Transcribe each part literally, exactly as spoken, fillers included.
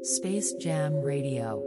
Space Jam Radio.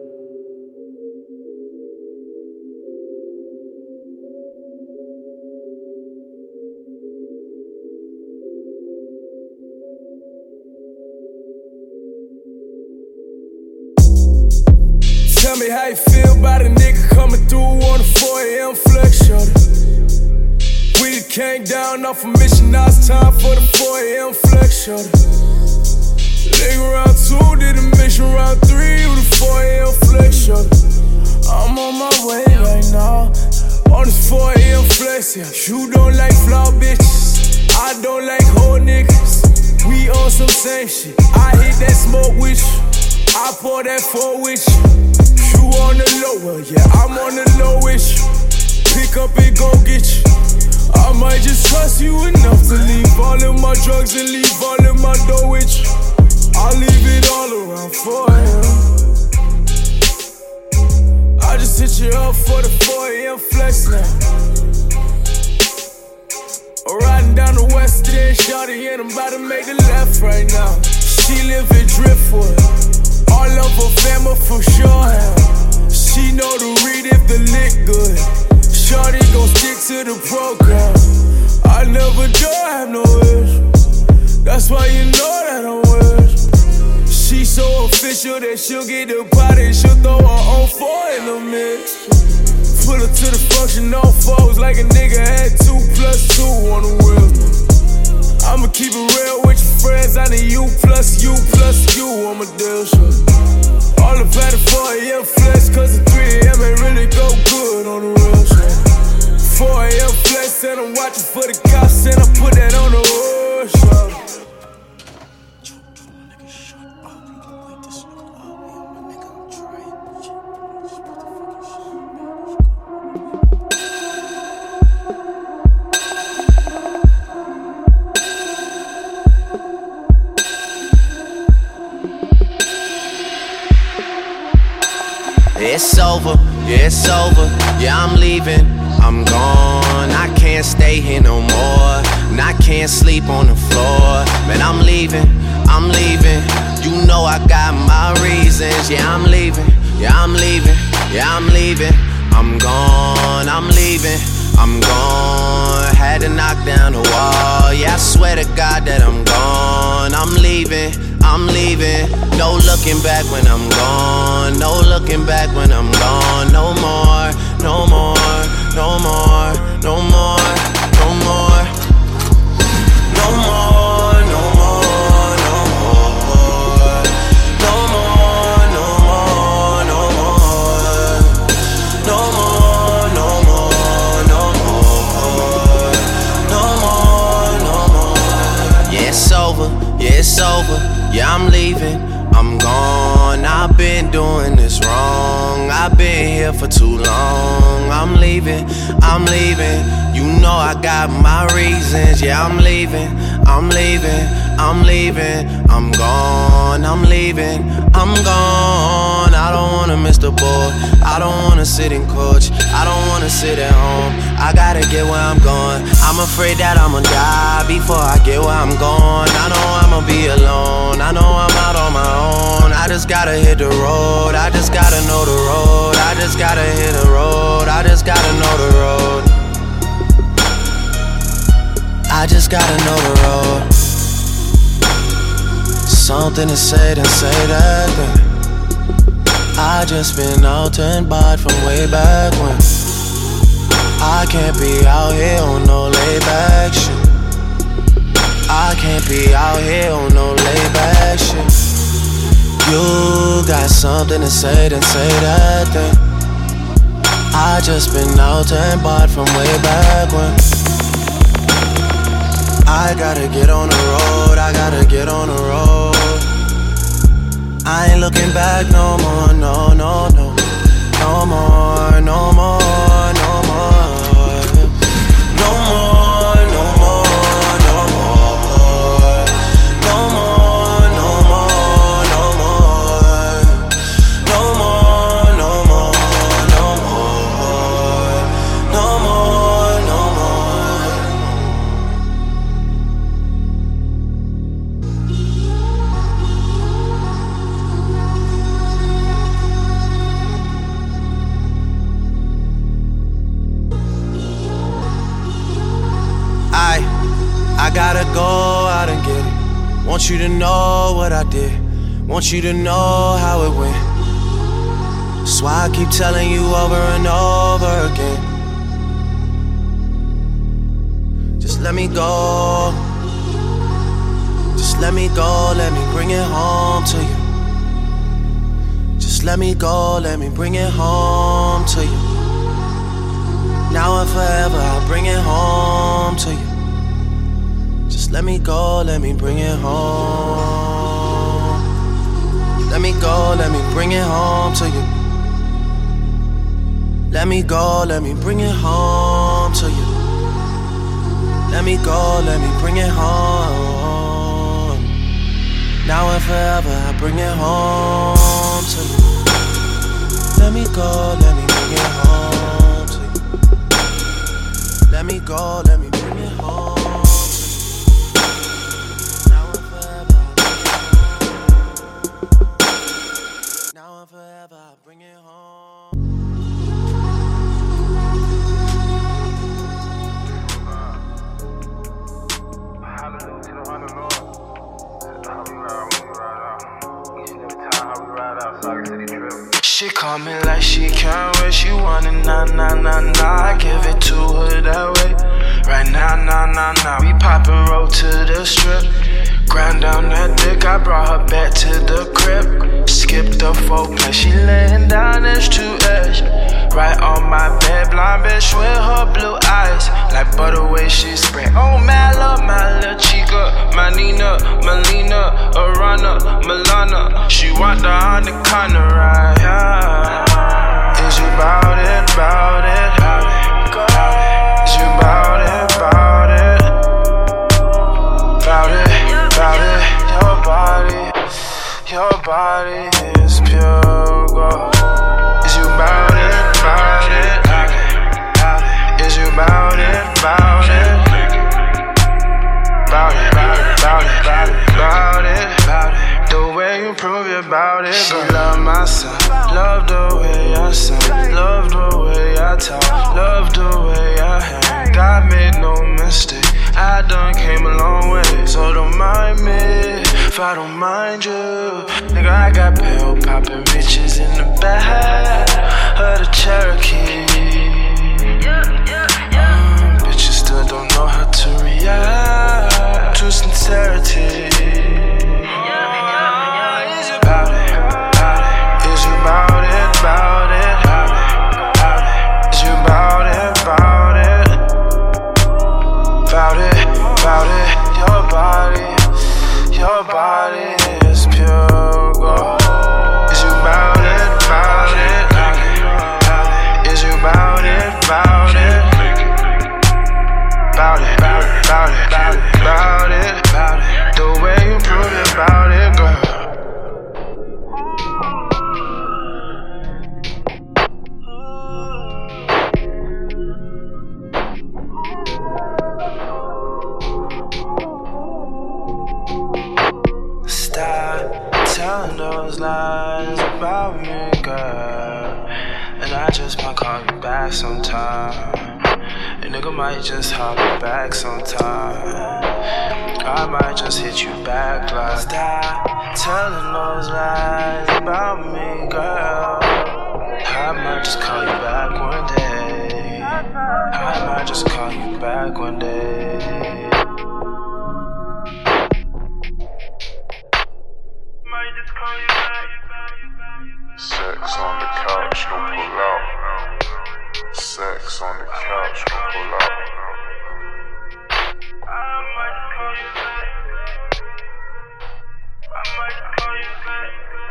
Tell me how you feel about a nigga coming through on the four a.m. flex, shorty. We done came down off a mission, now it's time for the four a.m. flex, shorty. Nigga round two, did a mission round three, you the four a.m. flex, shorty. I'm on my way right now, on this four a.m. flex, yeah. You don't like flaw bitches, I don't like whole niggas. We on some same shit, I hit that smoke with you, I pour that four with you. You on the lower, yeah, I'm on the lowest. Pick up and go get you. I might just trust you enough to leave all of my drugs and leave all of my dough with you. I'll leave it all around for him. I just hit you up for the four a.m. flex now. I'm riding down the west end, shawty, and I'm about to make a left right now. She live in Driftwood, all of her family for sure have. She know to read if the lick good. Shorty gon' stick to the program. I never do have no wish. That's why you know that I'm wish. She so official that she'll get the body. She'll throw her own four in the mix. Pull her to the function, no foes. Like a nigga had two plus two on the wheel. I'ma keep it real with your friends. I need you plus you plus you on my deal, shit. All about the four a.m. flex, cause the three a.m. ain't really go good on the real shit. four a.m. flex, and I'm watching for the cops, and I put that on the road, shit. It's over, yeah, it's over, yeah, I'm leaving, I'm gone. I can't stay here no more, and I can't sleep on the floor. Man, I'm leaving, I'm leaving, you know I got my reasons. Yeah, I'm leaving, yeah, I'm leaving, yeah, I'm leaving, I'm gone, I'm leaving, I'm gone. Had to knock down the wall, yeah, I swear to God that I'm gone. I'm leaving, I'm leaving, no looking back when I'm gone. No looking back when I'm gone. No more, no more, no more, no more, no more, no more, no more, no more, no more, no more, no more, no more, no more, no more, no more, no more. Yeah, it's over, yeah, it's over. Yeah, I'm leaving, I'm gone. I've been doing this wrong. I've been here for too long. I'm leaving, I'm leaving. You know I got my reasons. Yeah, I'm leaving, I'm leaving, I'm leaving. I'm gone, I'm leaving, I'm gone. I don't wanna miss the boat. I don't wanna sit in coach. I don't wanna sit at home. I gotta get where I'm going. I'm afraid that I'ma die before I get where I'm going. I know I'ma be alone. I know I'm out on my own. I just gotta hit the road. I just gotta know the road. I just gotta hit the road. I just gotta know the road. I just gotta know the road. Something to say, then say that then. I just been out and bought from way back when. I can't be out here on no layback shit. I can't be out here on no layback shit. You got something to say, then say that then. I just been out and bought from way back when. I gotta get on the road, I gotta get on the road. I ain't looking back no more, no, no, no. No more, no more, no more. No more, no more, no more. No more, no more, no more. No more, no more, no more. No more, no more. gotta go out and get it. Want you to know what I did. Want you to know how it went. That's why I keep telling you over and over again. Just let me go. Just let me go, let me bring it home to you. Just let me go, let me bring it home to you. Now and forever, I'll bring it home to you. Just let me go, let me bring it home. Let me go, let me bring it home to you. Let me go, let me bring it home to you. Let me go, let me bring it home. Now and forever, I bring it home to you. Let me go, let me bring it home to you. Let me go, let me bring it home to you. Now and forever, I bring it home. Now and forever, I bring it home. She call me like she can't wait. She want it, nah, nah, nah, nah. I give it to her that way. Right now, nah, nah, nah. We pop and roll to the strip. Grind down that dick, I brought her back to the crib. Skip the foreplay, she laying down edge to edge. Right on my bed, blind bitch with her blue eyes. Like butter way she spray. Oh, my love, my little chica. My Nina, Melina, Arana, Milana. She want the on the corner ride. Yeah. Is you bout it, bout it? Is you bout it, bout it? Bout it, bout it. Your body, your body is pure gold. Is you bout it, bout it? Is you bout it, bout it? Bout it, bout it, bout it, bout it, bout it, bout it. The way you prove it, bout it. She love my son, love the way I sing, love the way I talk, love the way I hang. God made no mistake, I done came a long way. So don't mind me if I don't mind you. Nigga, I got pill poppin' bitches in the back of the Cherokee. Mm, bitches still don't know how to react to sincerity. Is you bout it? Is you bout it? Bout it? Is you bout it? Bout it? Bout it? Bout it? Your body, your body is pure gold. Is you bout it? Bout it? Is you bout it? Bout it? Bout it? Bout it? Bout it? Bout it? Bout it? The way you prove it, bout it, girl. Stop telling those lies about me, girl. And I just might call you back sometime. A nigga might just holler back sometime. I might just hit you back like. Stop telling those lies about me, girl. I might just call you back one day. I might just call you back one day. Sex on the couch, no pull out. Sex on the couch, no pull out. I might call you back. I might call you back.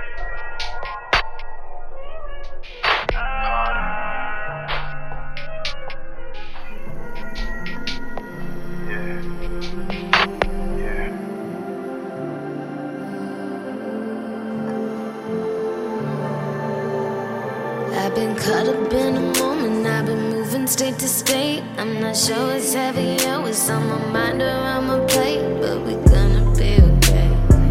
Yeah. Yeah. I've been caught up in a moment, I've been moving state to state. I'm not sure what's heavier, what's on my mind or on my plate, but we gonna be okay.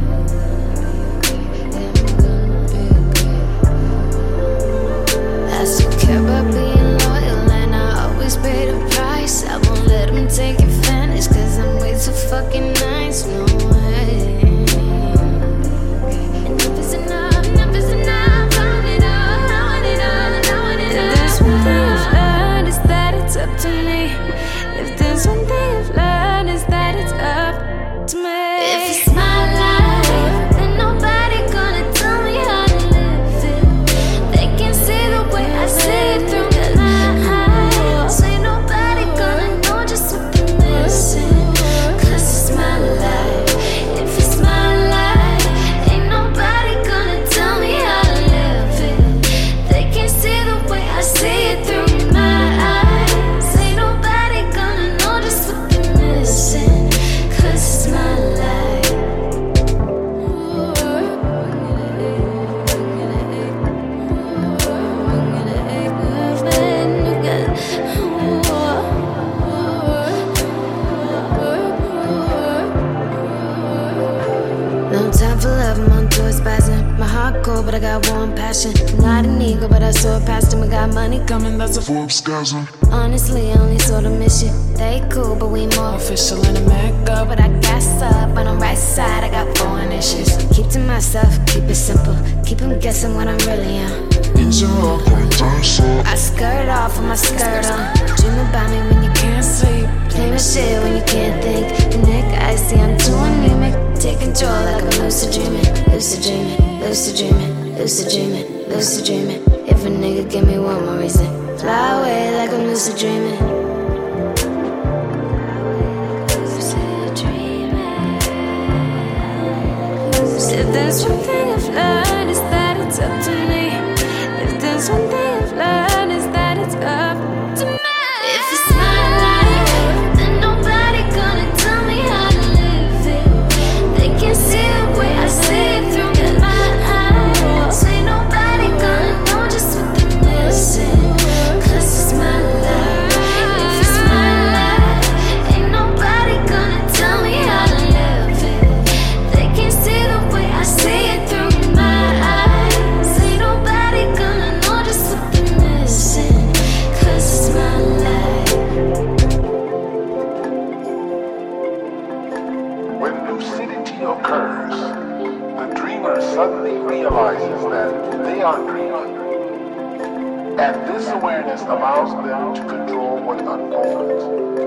I still care about being loyal and I always pay the price. I won't let them take advantage, cause I'm way too fucking but I got warm passion. I'm not an ego, but I saw past him. I got money coming, that's a Forbes-gasm. Honestly, I only sort of miss you. They cool, but we more official in America. But I gas up on the right side, I got foreign issues. Keep to myself, keep it simple. Keep them guessing what I'm really on. I skirt off with my skirt on. Dream about me when you can't sleep. Play my shit when you can't think. And Nick, I see I'm too anemic. Take control like I'm lucid dreaming. Lucid dreaming, lucid dreaming, lucid dreaming, lucid dreaming. If a nigga give me one more reason, fly away like I'm lucid dreaming. Lucid dreaming. If there's one thing I've learned, it's that it's up to me. If there's one thing I've learned, it's that it's up to me. If it's my life, then nobody gonna tell me how to live it. They can see the way I see it through my eyes. Ain't nobody gonna know just what they're missing. Cause it's my life. If it's my life, ain't nobody gonna tell me how to live it. They can see the way I see it through my eyes. Ain't nobody gonna know just what they're missing. Cause it's my life. When lucidity occurs, the dreamer suddenly realizes that they are dreaming. And this awareness allows them to control what unfolds.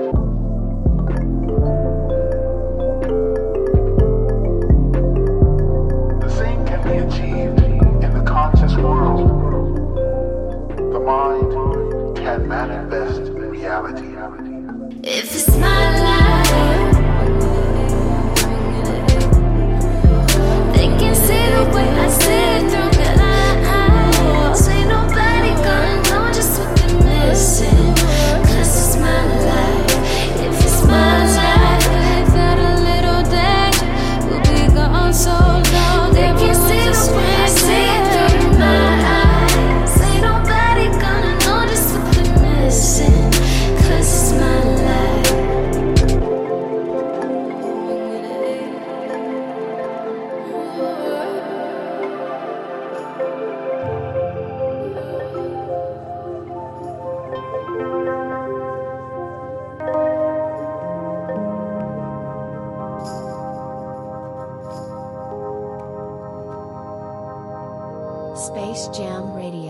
The same can be achieved in the conscious world. The mind can manifest reality. If it's my life, they can see the way I see it through their eyes. Ain't nobody gonna know just what they're missing. Cause it's my life. If it's my life, without a little danger, we'll be gone so long. They can see the way I see it through my eyes. Ain't nobody gonna know just what they're missing. Cause it's my life. Space Jam Radio.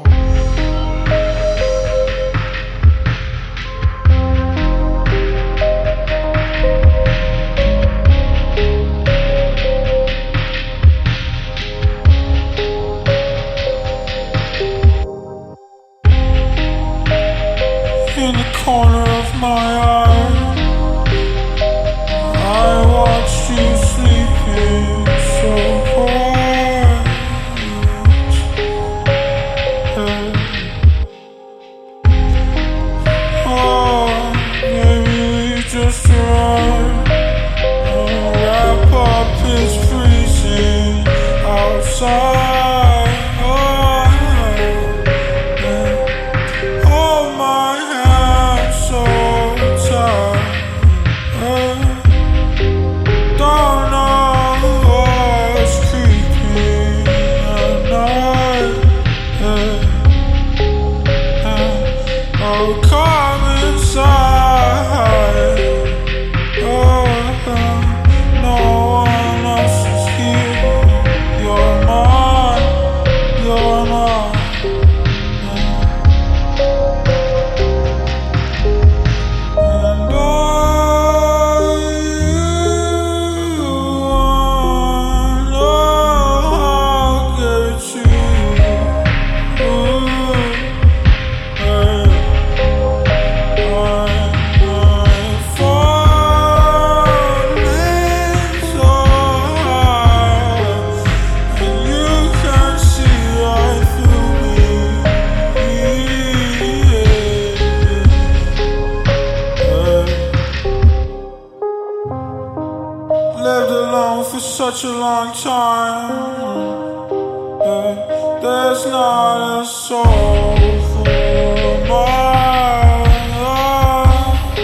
In the corner of my eye, I watched you sleeping so quiet. Oh, maybe we just arrived. Oh, wrap up, it's freezing outside. Such a long time, yeah, there's not a soul for my life.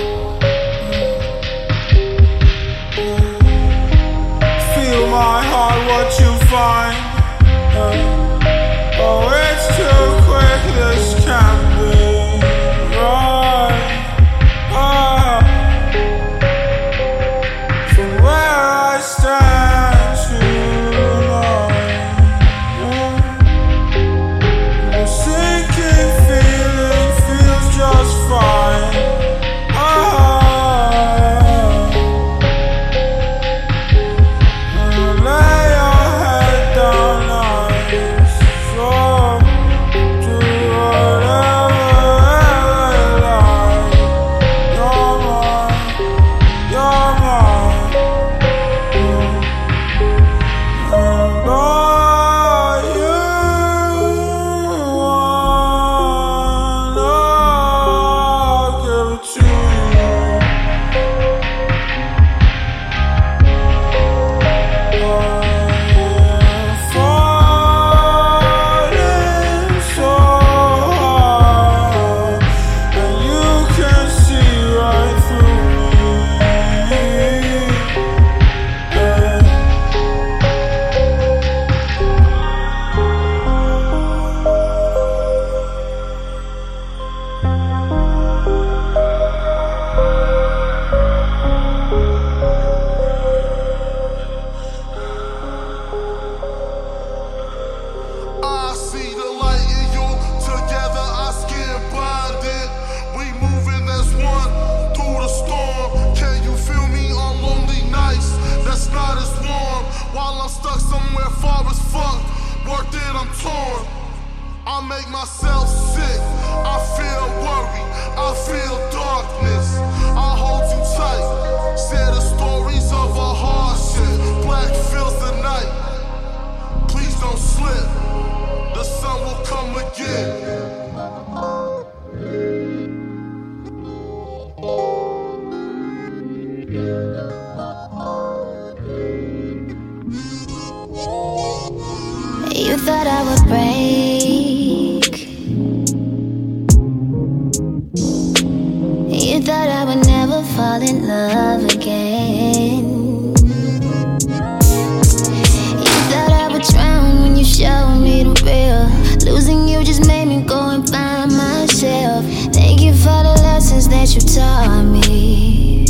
Feel my heart, what you find, yeah. make myself sick. I feel worry, I feel darkness. I hold you tight. Share the stories of a hardship. Black fills the night. Please don't slip. The sun will come again. You thought I would break. You thought I would never fall in love again. You thought I would drown when you showed me the real. Losing you just made me go and find myself. Thank you for the lessons that you taught me.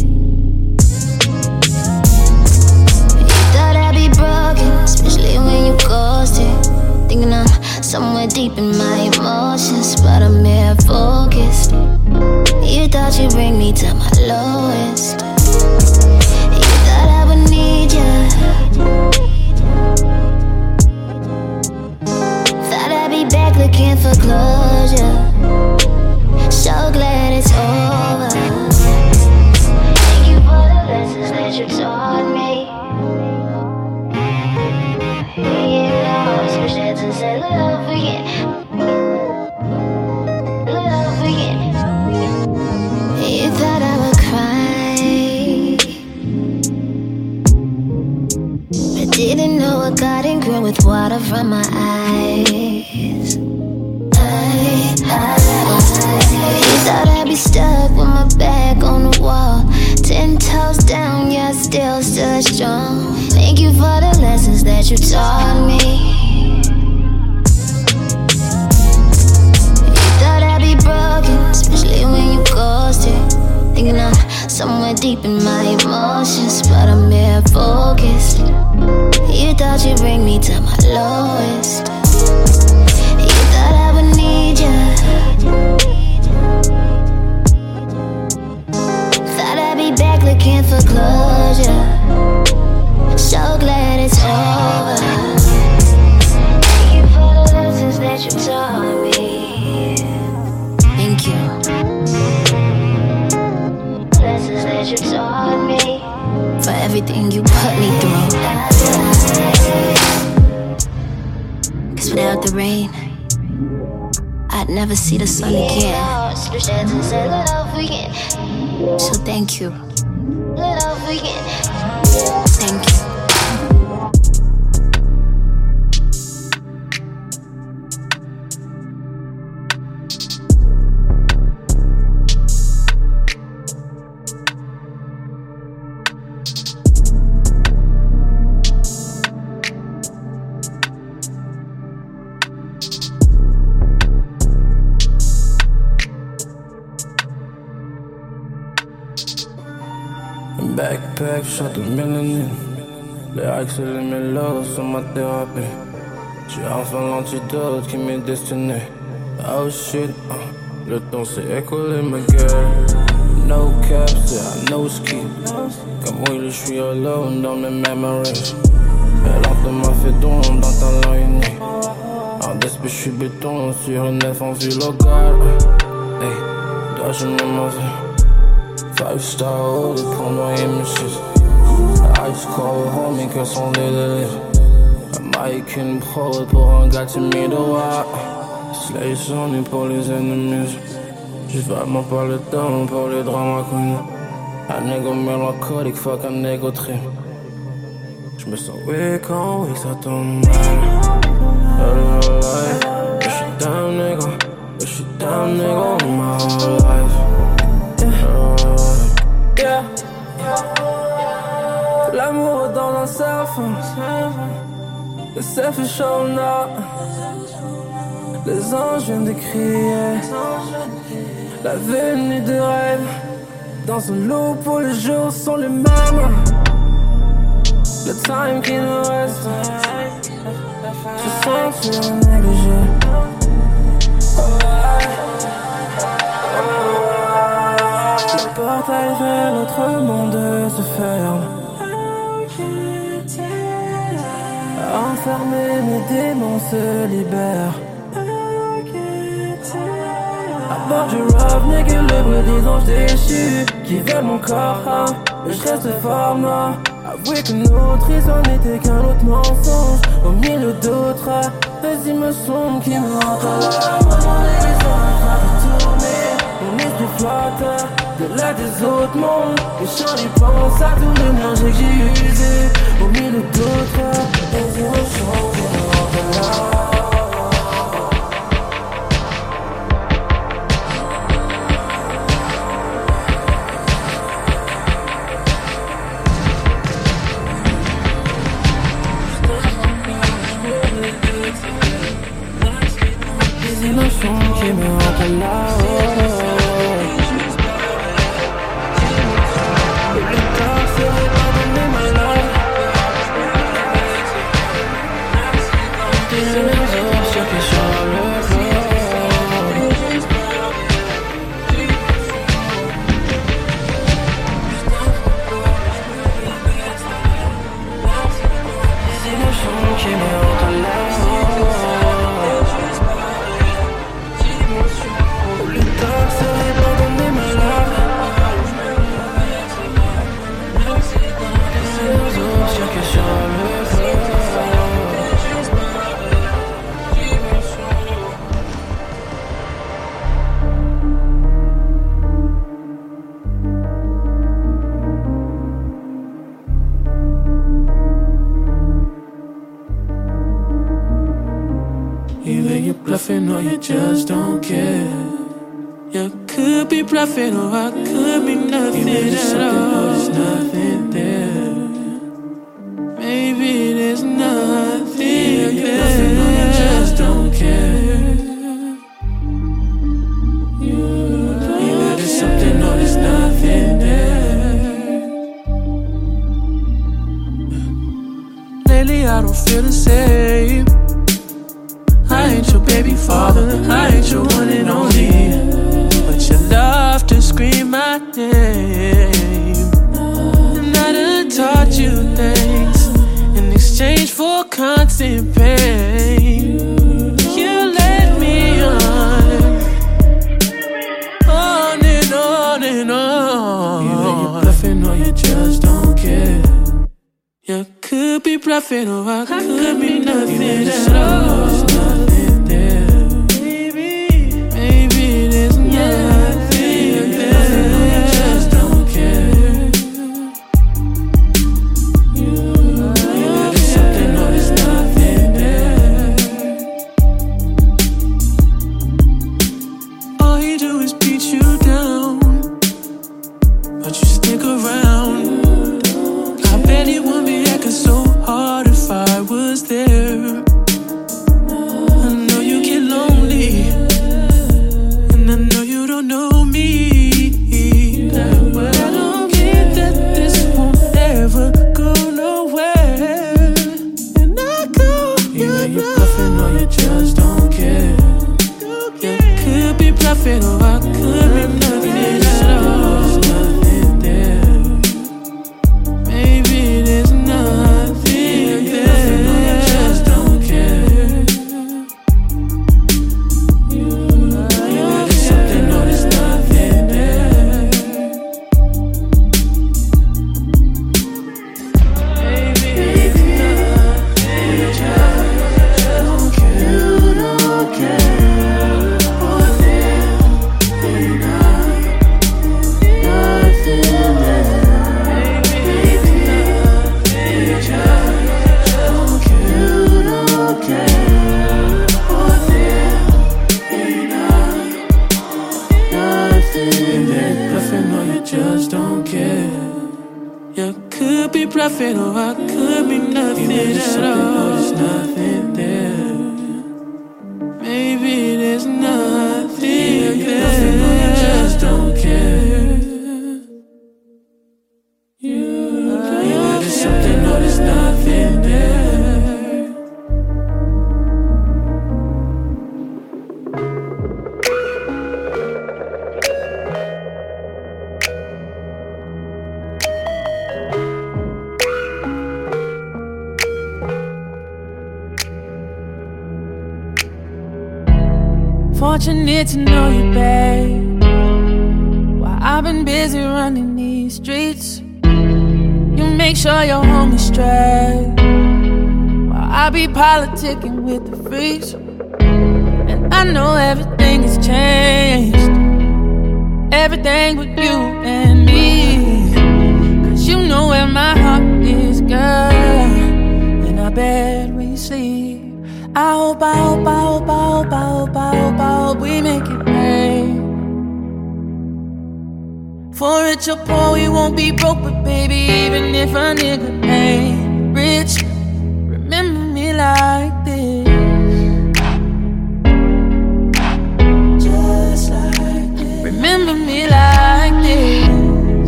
You thought I'd be broken, especially when you ghosted. Thinking I'm somewhere deep in my emotions, but I'm here focused. You thought you'd bring me to my lowest. You thought I would need you. Thought I'd be back looking for closure. So glad it's over. Thank you for the lessons that you taught me. Switch heads and say love again. Love again. You thought I would cry, but didn't know I got ingrained with water from my eyes. I, I, I, you thought I'd be stuck with my back on the wall. Ten toes down, yeah, still stood strong. Thank you for the lessons that you taught me. Broken, especially when you ghosted. Thinking I'm somewhere deep in my emotions, but I'm here focused. You thought you'd bring me to my lowest. You thought I would need you. Thought I'd be back looking for closure. So glad it's over. Thank you for the lessons that you taught me. Thank you. Lessons that you taught me. For everything you put me through. Cause without the rain, I'd never see the sun again. So thank you. Thank you. Backpack, shot de mélanine. Les hikes et les mélos sont ma thérapie. J'ai enfin l'antidote qui m'est destiné. Oh shit, uh, le temps s'est écoulé ma gueule. No cap, c'est un no ski. Comme oui, je suis alone dans mes memories. Elle entre m'a fait don dans talent unique. En d'esprit, je suis béton sur une nef en vulogare. Hey, dois-je me mauvais? Five star holy pour noyer mes shit. Ice cold homie que sont les délires. American pro pour un gars timide, ouais. Slay son et pour les ennemis. J'ai vraiment pas le temps pour les dramas queen. Un ego mélancolique, fuck un ego trip. J'me sens weak quand oui ça tombe mal. J'suis down nigga, j'suis down nigga all my whole life. Yeah. L'amour dans un surf. Le surf est chaud, non. Les anges viennent de crier. La venue de rêve. Dans un lot pour les jours sont les mêmes. Le time qui nous reste. Je sens que tu es négligé. Le portail vers notre monde se ferme. Enfermés, mes démons se libèrent. bord du rap, n'est que le bruit des anges déchus qui veulent mon corps, hein, mais je reste fort, moi. Avouez que notre histoire n'était qu'un autre mensonge au milieu d'autres, des images sombres qui me hantent à la maman et les gens en train de tourner. Mon esprit flotte de là des autres mondes. Et j'en y pense à tout l'énergie que j'ai usé au milieu d'autres, des émotions qui me hantent à la. Des émotions qui me hantent là-haut. Le plus tard serait pardonner ma love. Des énergies choquées sur le floor. Des émotions qui me hantent là-haut. Either you're bluffing or you just don't care. You could be bluffing or I could be nothing at all. There's nothing there. Maybe there's nothing yeah, you're there. Bluffing or you just don't care. Either there's something or there's nothing there. Lately I don't feel the same. I ain't your baby father, I ain't your one and only, but you love to scream my name. And I done taught you things in exchange for constant pain. You let me on, on and on and on. Either you're bluffing or you just don't care. You could be bluffing or I could, could be nothing at all. Fortunate to know you, babe. While I've been busy running these streets, you make sure you're home is straight. While I be politicking with the freaks, and I know everything has changed. Everything with you and me, cause you know where my heart is, girl. And I bet when you sleep, I hope, I hope, I hope, I hope, I hope, I hope, I hope we make it pay. For rich or poor, we won't be broke, but baby, even if a nigga ain't rich, remember me like this. Just like this. Remember me like this.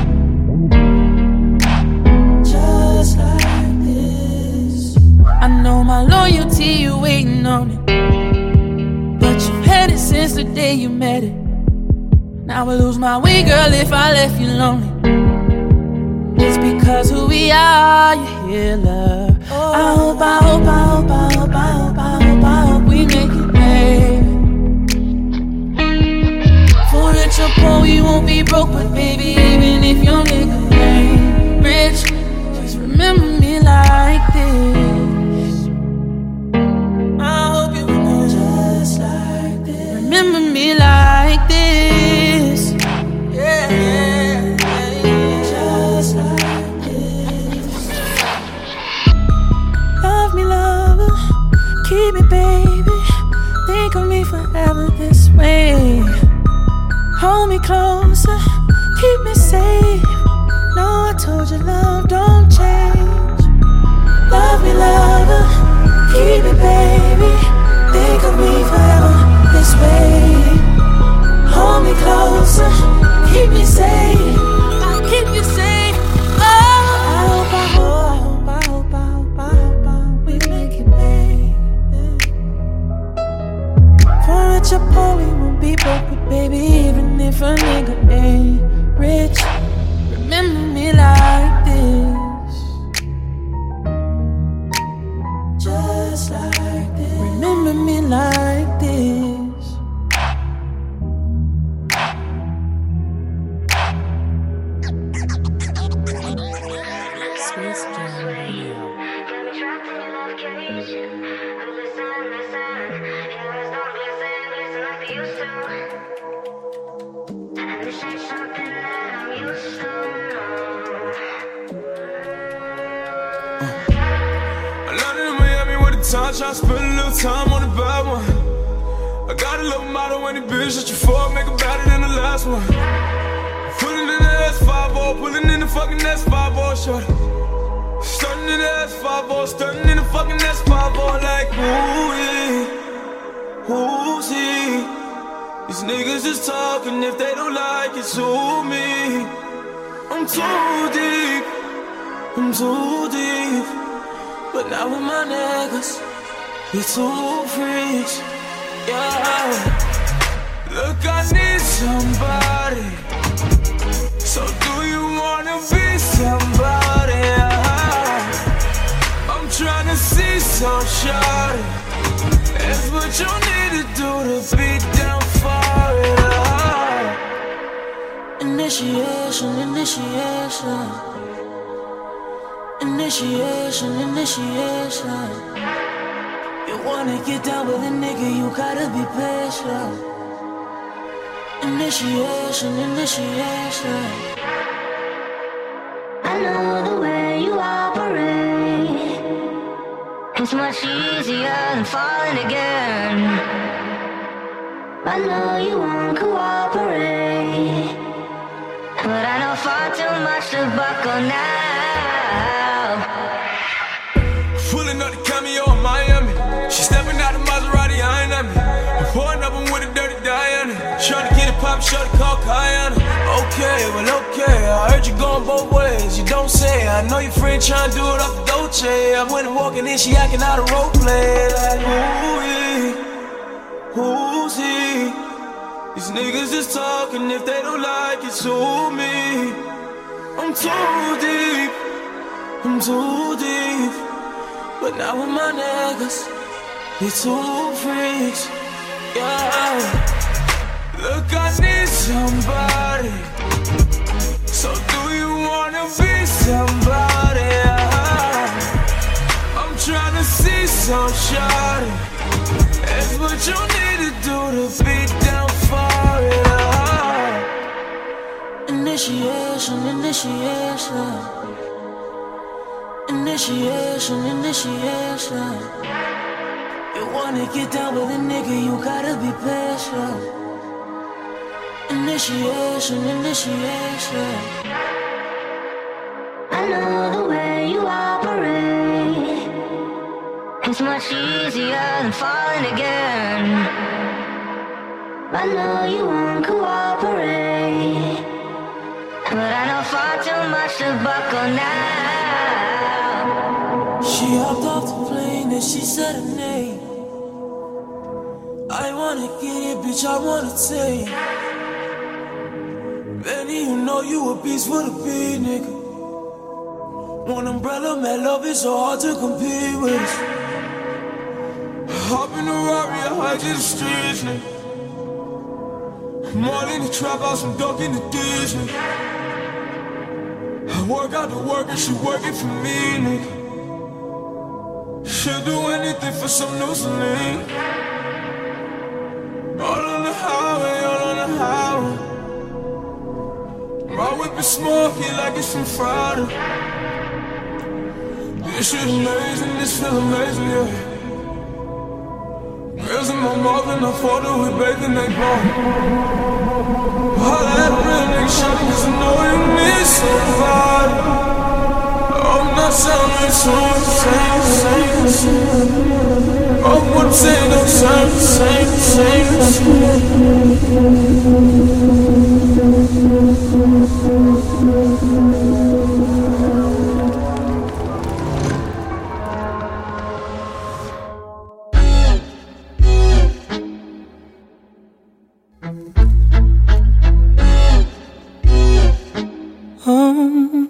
Just like this. I know my loyalty, you waiting on it, but you've had it since the day you met it. Now I lose my way, girl, if I left you lonely. It's because who we are, you hear love. Oh. I hope, I hope, I hope, I hope, I hope, I hope, I hope we make it, baby. For rich or poor, we won't be broke, but baby, even if your nigga ain't rich, just remember me like this. I hope you know just like this. Remember me like this. Yeah, yeah, yeah. Just like this. Love me, lover, keep me, baby. Think of me forever this way. Hold me closer, keep me safe. No, I told you love don't change. Love me, lover, keep me, baby. Think of me forever this way. Hold me closer, keep me safe. I'll keep you safe. Oh, I hope, I hope, I hope, I hope, I hope, I hope we make it, baby. For rich or poor, we won't be broke, but baby, even if a nigga ain't rich, remember me like this. Just like this. Remember me like this. Space Jam Radio. Time, tryna spend a little time on the bad one. I got a little motto when the bitch that you for, make it better than the last one. Pulling in the S five oh, pulling in the fucking S five oh, shorty. Stunning in the S five oh, stunning in the fucking S five oh, like ooh-wee, who's he? These niggas just talking, if they don't like it, sue me. I'm too deep, I'm too deep. But not with my niggas, we two freaks, yeah. Look, I need somebody, so do you wanna be somebody? Yeah. I'm tryna see some shawty, that's what you need to do to be down for it. Yeah. Initiation, initiation. Initiation, initiation. You wanna get down with a nigga, you gotta be patient. Initiation, initiation. I know the way you operate. It's much easier than falling again. I know you won't cooperate, but I know far too much to buckle now. Pulling up the cameo in Miami. She stepping out of Maserati, eyeing at me. I'm pouring up with a dirty Diana. Trying to get it pop, short call Kayana. Okay, well okay, I heard you going both ways. You don't say, I know your friend trying to do it off the Dolce. I went and walking in, she acting out of role play. Like, ooh-wee, who's he? These niggas just talking, if they don't like it, sue me. I'm too deep, I'm too deep. But not with my niggas, we two freaks, Yeah. Look, I need somebody. So do you wanna be somebody? Yeah. I'm trying to see some shawty. It's what you need to do to be down for it. Yeah. Initiation, initiation. Initiation, initiation. You wanna get down with a nigga, you gotta be patient. Initiation, initiation. I know the way you operate. It's much easier than falling again. I know you won't cooperate, but I know far too much to buckle now. She hopped off the plane and she said her name. I wanna get it, bitch, I wanna take. Benny, you know you a beast with a beat, nigga. One umbrella, man, love is so hard to compete with. Hop in the Rari, I hide to the streets, nigga. I'm all in the trap house, I'm ducking the Disney. I work out the work and she working for me, nigga. She'll do anything for some new Celine. All on the highway, all on the highway. My whip is smoky like it's from Friday. This shit amazing, this feel amazing, yeah. Girls in my mouth and I fought her, we bathed in they bone. Holla at real nigga, shawty, cause I know you need somebody. I'm not sounding so same, same, same. I'm what saying, I'm same, same, same, Um,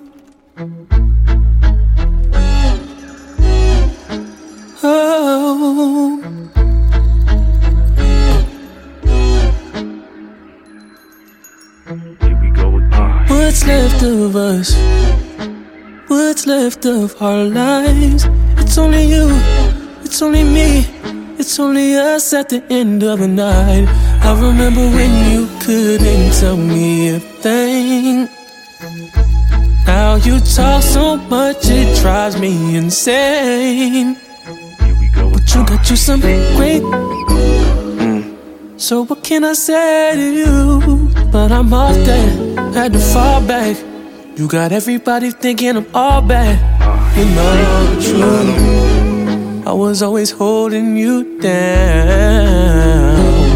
oh. Here we go again. What's left of us? What's left of our lives? It's only you, it's only me, it's only us at the end of the night. I remember when you couldn't tell me a thing. Now you talk so much it drives me insane. Here we go But you again. got you something great. Mm. So what can I say to you? But I'm off that, had to fall back. You got everybody thinking I'm all bad. You know the truth, I was always holding you down.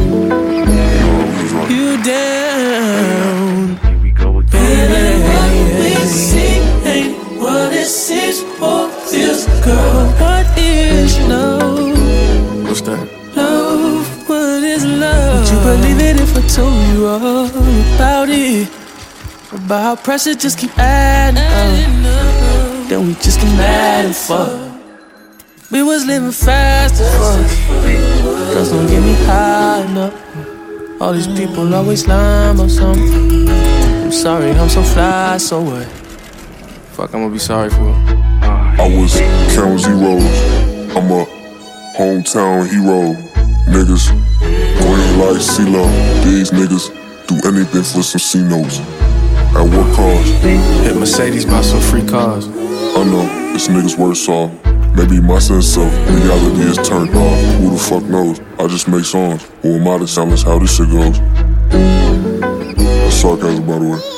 You down. Here we go again. Baby, what we see ain't what it seems for this girl. What is love? What's that? Love, what is love? Would you believe it if I told you all about it? About how pressure just keep adding up. Then we just get mad and fuck. We was living fast as fuck. Girls don't get me high enough. All these people always lying about something. I'm sorry, I'm so fly, so what? Fuck, I'm gonna be sorry for it. I was counting zeros. I'm a hometown hero. Niggas green like CeeLo. These niggas do anything for some C-notes. At what cost? Hit Mercedes, buy some free cars. I know, this nigga's worse off. Maybe my sense of reality is turned off. Who the fuck knows? I just make songs. Who am I to challenge how this shit goes? That's sarcasm, by the way.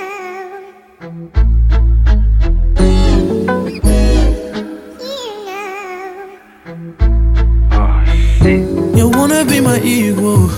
You wanna be my equal.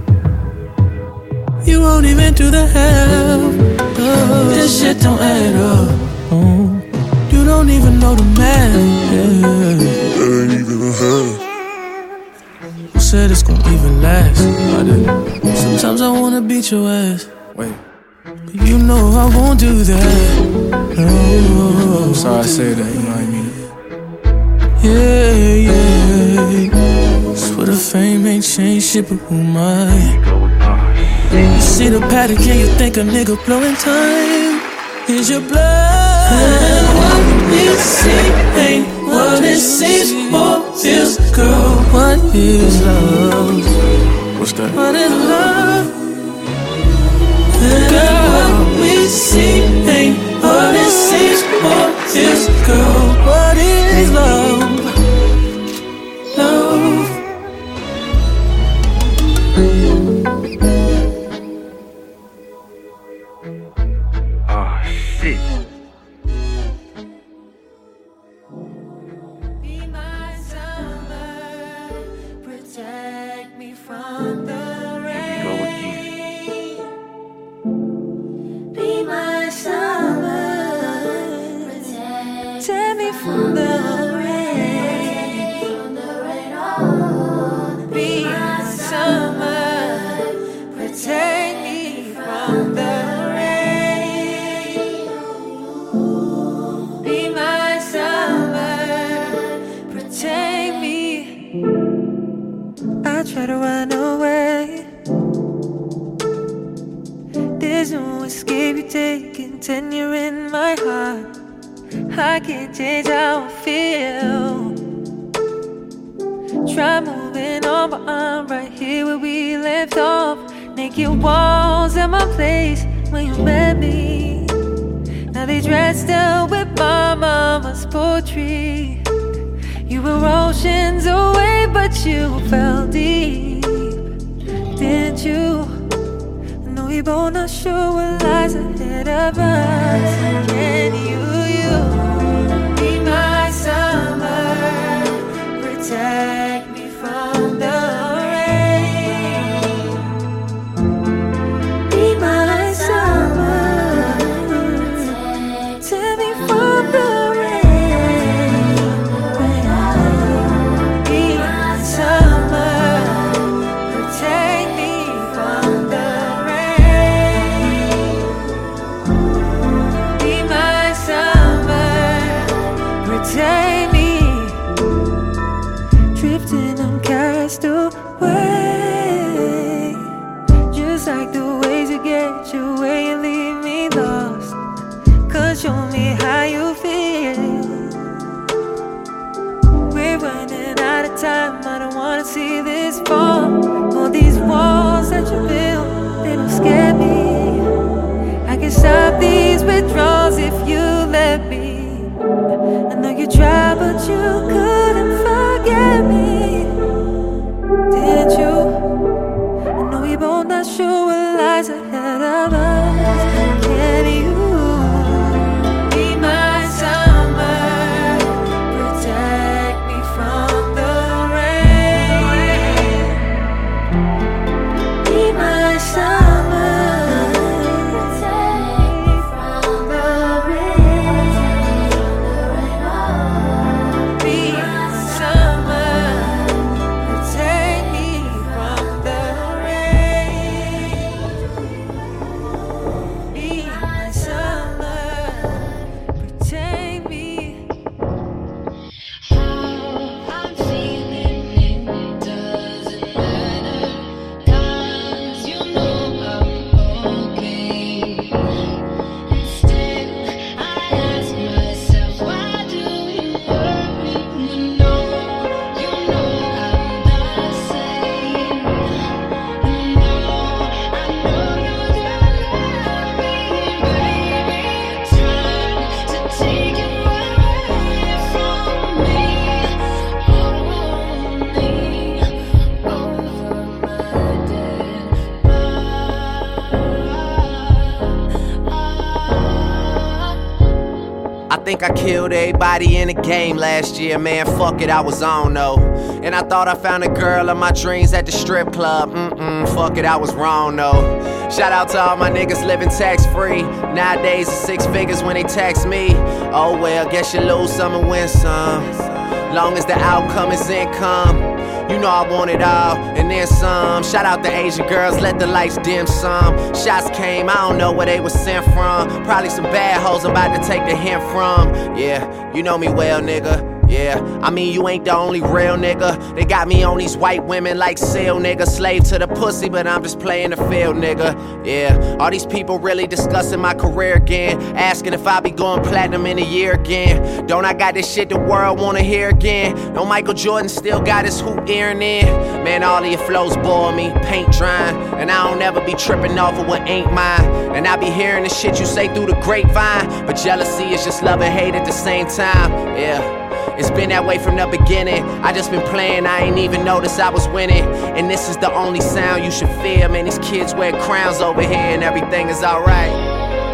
You won't even do the half. Oh, this shit don't add up. Oh, you don't even know the math. Yeah. That ain't even a half. Who said it's gonna even last? I didn't. Sometimes I wanna beat your ass. Wait, But you know I won't do that. No. I'm sorry I said that, you know what I mean? Yeah, yeah. Swear to fame ain't changed shit, but who am I? You see the pattern, can you think a nigga blowing time? Is your blood? And what we see ain't what it seems or feels. Girl, what is love? What's that? What is love? Girl, what we see ain't what it seems or feels. Girl, what is love? Love. Oh, shit. Be my summer, protect me from the rain. Go again. Be my summer, protect me from the rain. Be my summer, protect me from the rain. Be my summer, protect me. I try to run away. There's no escape, you taking tenure in my heart. I can't change how I feel. Try moving on, but I'm right here where we left off. Naked walls at my place when you met me. Now they dressed up with my mama's poetry. You were oceans away, but you fell deep, didn't you? I know we both not sure what lies ahead of us. Can you, you be my summer, protect me from the rain. Be my summer, protect me from the rain. Be my summer, protect me from the rain. Be my summer, protect me. Drifting, I'm cast away. Just like the ways you get your way and leave me lost. Cause show me how you feel. We're running out of time, I don't wanna see this fall. All these walls that you build, they don't scare me. I can stop these withdrawals if you let me. I know you tried, but you couldn't forget me, did you? I know we both not sure what lies ahead of us. Can you be my summer, protect me from the rain? Be my summer, protect me from the rain. Be my summer, protect me from the rain. Be my summer, protect me. How I'm feeling, it doesn't matter. 'Cause you know I'm okay. Instead, I ask myself, why do you worry? You know, you know I'm the same. I know, I know you're gonna love me, baby. Trying to take you away from me, only over my dead body. I think I killed everybody in the game last year, man. Fuck it, I was on though. And I thought I found a girl of my dreams at the strip club. Mm-mm, fuck it, I was wrong though. Shout out to all my niggas living tax free. Nowadays it's six figures when they tax me. Oh well, guess you lose some and win some. Long as the outcome is income. You know I want it all, and then some. Shout out to Asian girls, let the lights dim some. Shots came, I don't know where they was sent from. Probably some bad hoes I'm about to take the hint from. Yeah, you know me well, nigga. Yeah, I mean, you ain't the only real nigga. They got me on these white women like seal, nigga. Slave to the pussy, but I'm just playing the field, nigga. Yeah, all these people really discussing my career again, asking if I'll be going platinum in a year again. Don't I got this shit the world wanna hear again? No, Michael Jordan still got his hoop earring in. Man, all of your flows bore me, paint drying, and I don't ever be tripping off of what ain't mine. And I be hearing the shit you say through the grapevine, but jealousy is just love and hate at the same time. Yeah. It's been that way from the beginning. I just been playing, I ain't even noticed I was winning. And this is the only sound you should fear. Man, these kids wear crowns over here and everything is alright.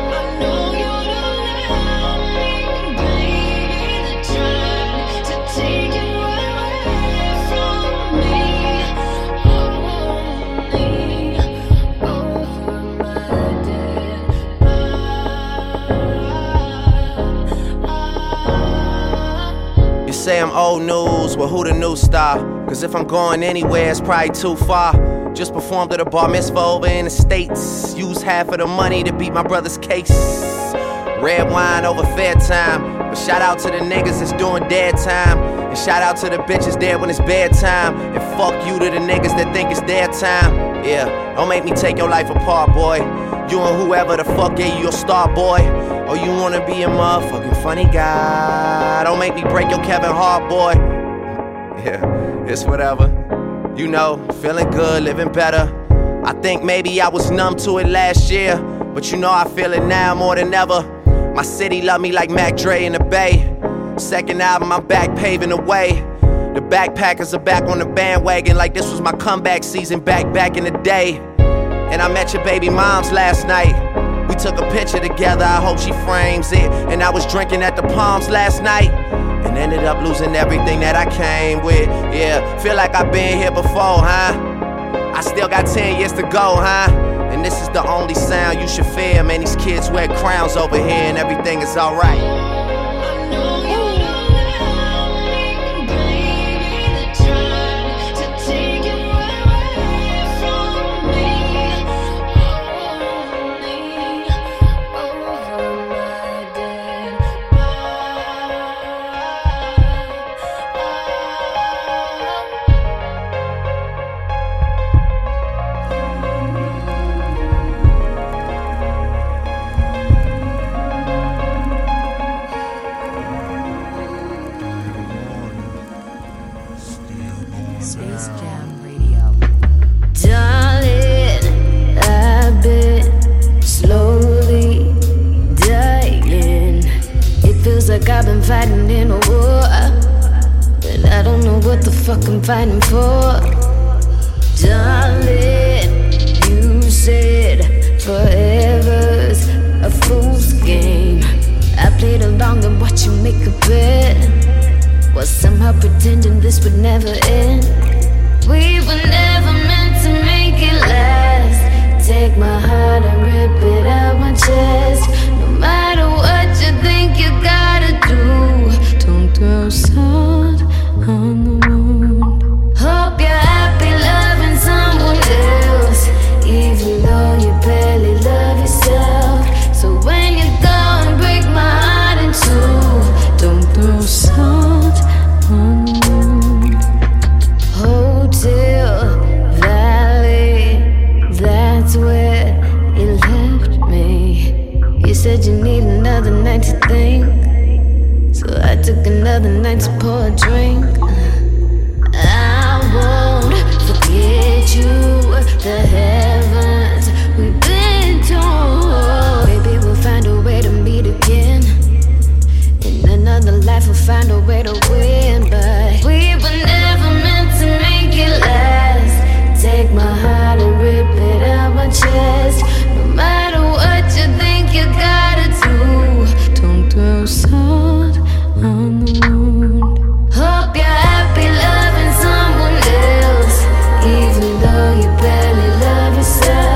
Say I'm old news, well who the new star? Cause if I'm going anywhere it's probably too far. Just performed at a bar mitzvah over in the States. Used half of the money to beat my brother's case. Red wine over fair time. But shout out to the niggas that's doing dead time. And shout out to the bitches dead when it's bedtime. And fuck you to the niggas that think it's their time. Yeah, don't make me take your life apart, boy. You and whoever the fuck gave you your star, boy. Or you wanna be a motherfucking funny guy. Don't make me break your Kevin Hart, boy. Yeah, it's whatever. You know, feeling good, living better. I think maybe I was numb to it last year, but you know I feel it now more than ever. My city love me like Mac Dre in the Bay. Second album, I'm back paving the way. The backpackers are back on the bandwagon like this was my comeback season back, back in the day. And I met your baby moms last night. We took a picture together, I hope she frames it. And I was drinking at the Palms last night and ended up losing everything that I came with. Yeah, feel like I've been here before, huh? I still got ten years to go, huh? And this is the only sound you should fear. Man, these kids wear crowns over here and everything is alright. Space Jam Radio. Darling, I've been slowly dying. It feels like I've been fighting in a war, but I don't know what the fuck I'm fighting for. Darling, you said forever's a fool's game. I played along and watched you make a bet. Was somehow pretending this would never end. We were never meant to make it last. Take my heart and rip it out my chest. No matter what you think you gotta do, don't throw salt on the wound. Hope you're happy loving someone else, even though you barely love yourself. So when you go and break my heart in two, don't throw salt. Hotel Valley, that's where you left me. You said you need another night to think, so I took another night to pour a drink. I won't forget you, the heavens we've been to. Maybe we'll find a way to meet again. In another life we'll find a way to win, but we were never meant to make it last. Take my heart and rip it out my chest. No matter what you think you gotta do, don't throw salt on the wound. Hope you're happy loving someone else, even though you barely love yourself.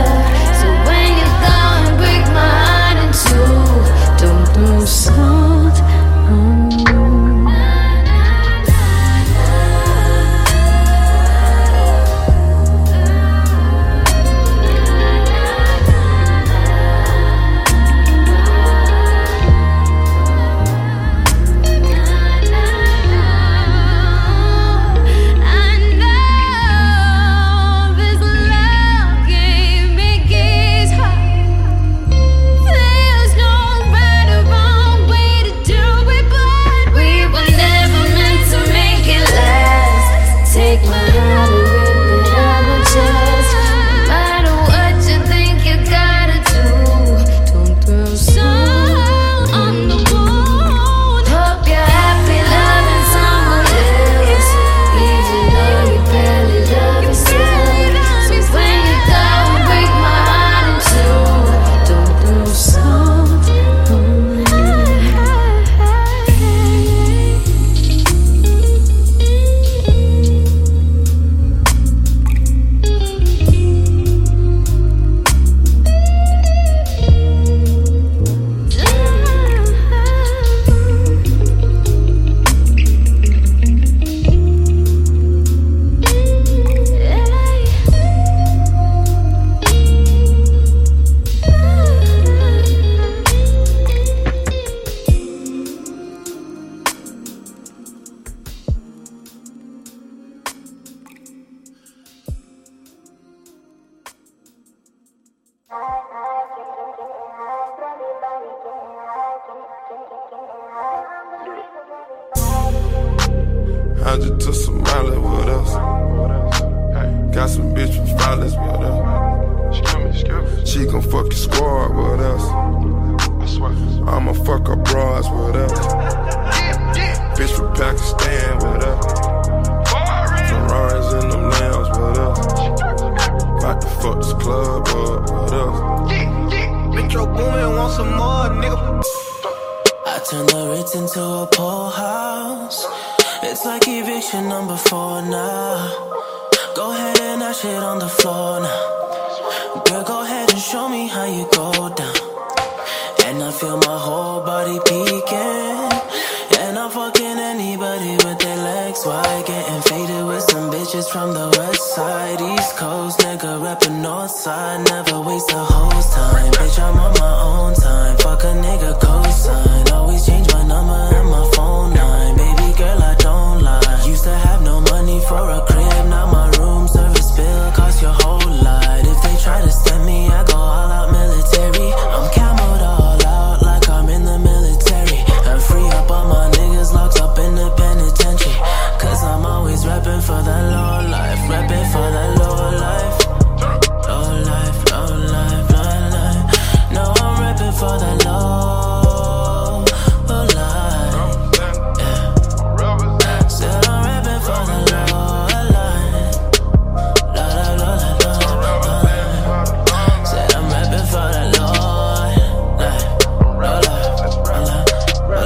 Hundred to Somalia with us. Got some bitch from Flawless with us. She gon' fuck your squad with us. I'ma fuck her bras with us. Bitch from Pakistan with us. Ferraris in them lambs with us. About to fuck this club up with us. Metro Boomin, want some more, nigga. I turn the Ritz into a poor house. It's like eviction number four now. Go ahead and dash it on the floor now. Girl, go ahead and show me how you go down. And I feel my whole body peeking. And I'm fucking anybody with their legs wide. Getting faded with some bitches from the west side. East Coast, nigga rapping north side. Never waste a host time. Bitch, I'm on my own time. Fuck a nigga cosign. Always change my number and my phone line. Baby girl, I don't lie. Used to have no money for a crib. Now my room service bill cost your whole lot. If they try to stem me, I go all out military. I'm camoed all out like I'm in the military. And free up all my niggas locked up in the penitentiary. Cause I'm always rapping for that low life. Rapping for that low life. Low life, low life, low life. No, I'm rapping for that low, low life. Yeah. Said I'm rapping for that low life. Low, low, low, low, low, low life. Said I'm rapping for that low life. Low life, low life, low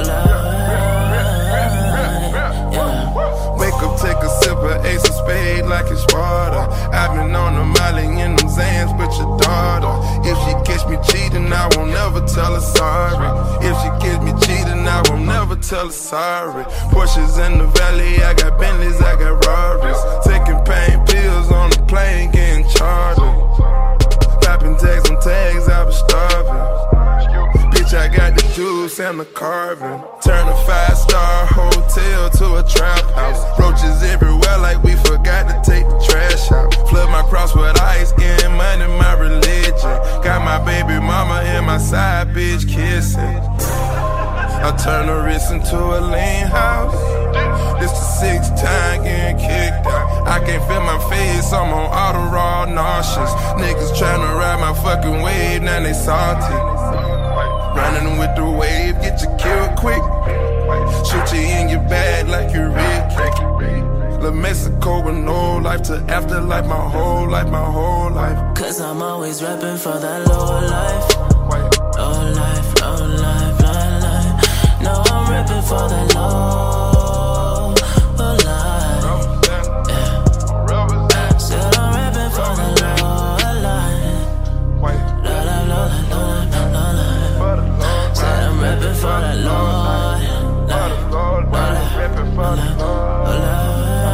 life. Yeah. Wake up, take a sip of Ace of Spade like it's water. I've been on the Molly in them Zans with your daughter. If she catch me cheating, I won't never tell her sorry. If she catch me cheating, I won't never tell her sorry. Porsches in the valley, I got Bentleys, I got Rarries. Taking pain pills on the plane, getting chartered. Popping tags on tags, I was starving. Bitch, I got the juice and the carving. Turn a five-star hotel to a trap house. Roaches everywhere like we forgot to take the trash out. Flood my cross with ice, getting money, my religion. Got my baby mama and my side bitch kissing. I turn the wrist into a lean house. This the sixth time getting kicked out. I can't feel my face, I'm on auto raw nauseous. Niggas tryna ride my fucking wave, now they salty. Running with the wave, get you killed quick. Shoot you in your bag like you're Rick. La Mexico with no life to afterlife, my whole life, my whole life. Cause I'm always rapping for that low life. Low life, low life, low life. No, I'm rapping for that low, low life. Yeah. Said I'm rapping for that low life. Low life, low life, low life, low life. Said I'm rapping for that low life. Low life, low life, low life.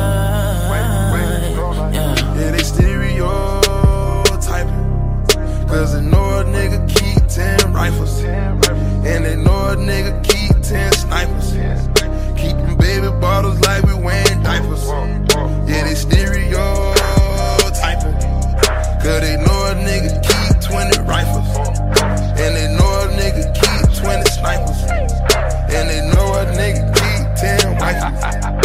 Yeah, they stereotyping. Cause they know a nigga keep ten rifles. And they know a nigga keep ten snipers. Keeping baby bottles like we wearing diapers. Yeah, they stereotyping. Cause they know a nigga keep twenty rifles. And they know a nigga keep twenty snipers. And they know a nigga keep ten rifles.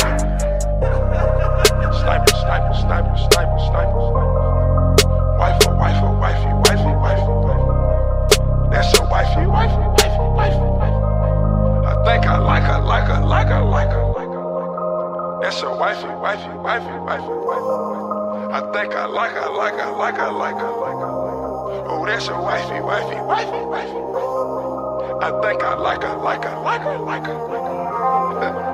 Sniper, sniper, sniper, sniper, sniper. Wifey, wifey, wifey, wifey, wifey. That's your wifey, wifey, wifey, wifey. I think I like her, like her, like her, like her, like her. That's your wifey, wifey, wifey, wifey, wifey. I think I like her, like her, like her, like her, like her. Oh, that's your wifey, wifey, wifey, wifey. I think I like her, like her, like her, like her, like her.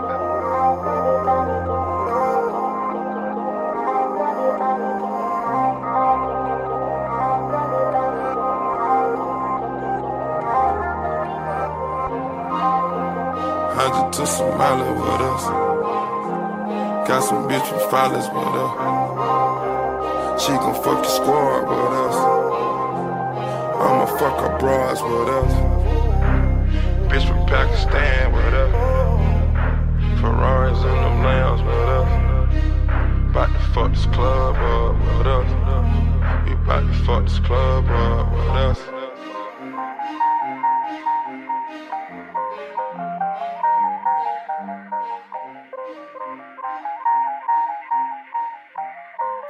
Hundred to Somalia with us. Got some bitch from Flawless with us. She gon' fuck your squad with us. I'ma fuck her bras with us. Bitch from Pakistan with us. Ferraris in them lambs with us. About to fuck this club up with us. We about to fuck this club up with us.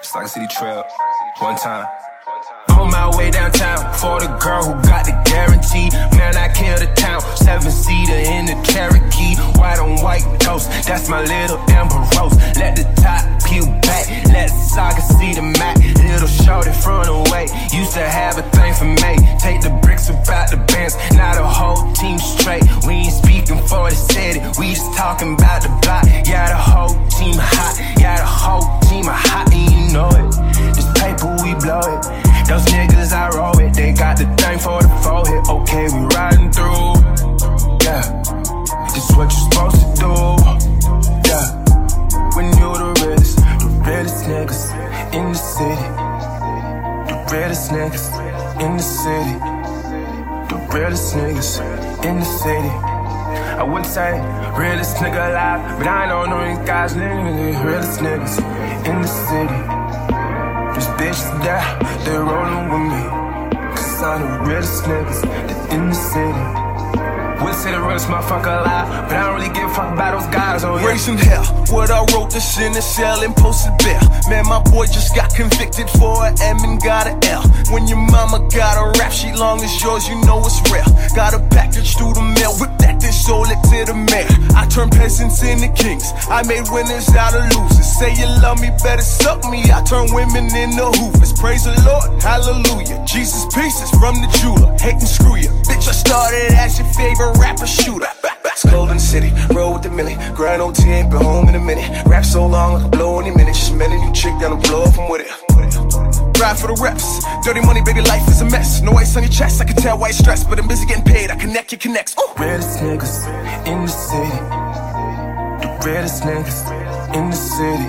Stock City Trail, one time. On my way downtown for the girl who got the guarantee. Man, I kill the town. Seven-seater in the Cherokee. White on white ghost, that's my little Amber Rose. Let the top peel back, let the socket see the mat. Little shorty front away, used to have a thing for me. Take the bricks about the bands, now the whole team straight. We ain't speaking for the city, we just talking about the block. Yeah, the whole team hot, yeah, the whole team hot, and you know it. This paper, we blow it. Those niggas I roll with, they got the thing for the forehead. Okay, we riding through. Yeah, this is what you supposed to do. Yeah, when you the realest, the realest niggas in the city. The realest niggas in the city. The realest niggas in the city. I would say realest nigga alive, but I don't know these guys, niggas. The realest niggas in the city. These bitches there, they rollin' with me. Cause I'm the realest niggas that's in the city. Would say the realest motherfucker alive, but I don't really give a fuck about those guys, oh yeah. Raising hell, what I wrote this in the cell and posted bail. Man, my boy just got convicted for an M and got an L. When your mama got a rap sheet long as yours, you know it's real. Got a package through the mail, whip that then sold it to the mayor. I turned peasants into kings, I made winners out of losers. Say you love me, better suck me, I turn women into hoovers. Praise the Lord, hallelujah, Jesus pieces from the jeweler. Hate and screw you, bitch, I started as your favorite rapper shooter. It's cold in the city, roll with the millie. Grind O T, ain't been home in a minute. Rap so long, I can blow any minute. Just met a new chick down the blow from with it. Ride for the reps, dirty money, baby, life is a mess. No ice on your chest, I can tell why you're stressed, but I'm busy getting paid, I connect your connects. Ooh. Realest niggas in the city. The realest niggas in the city.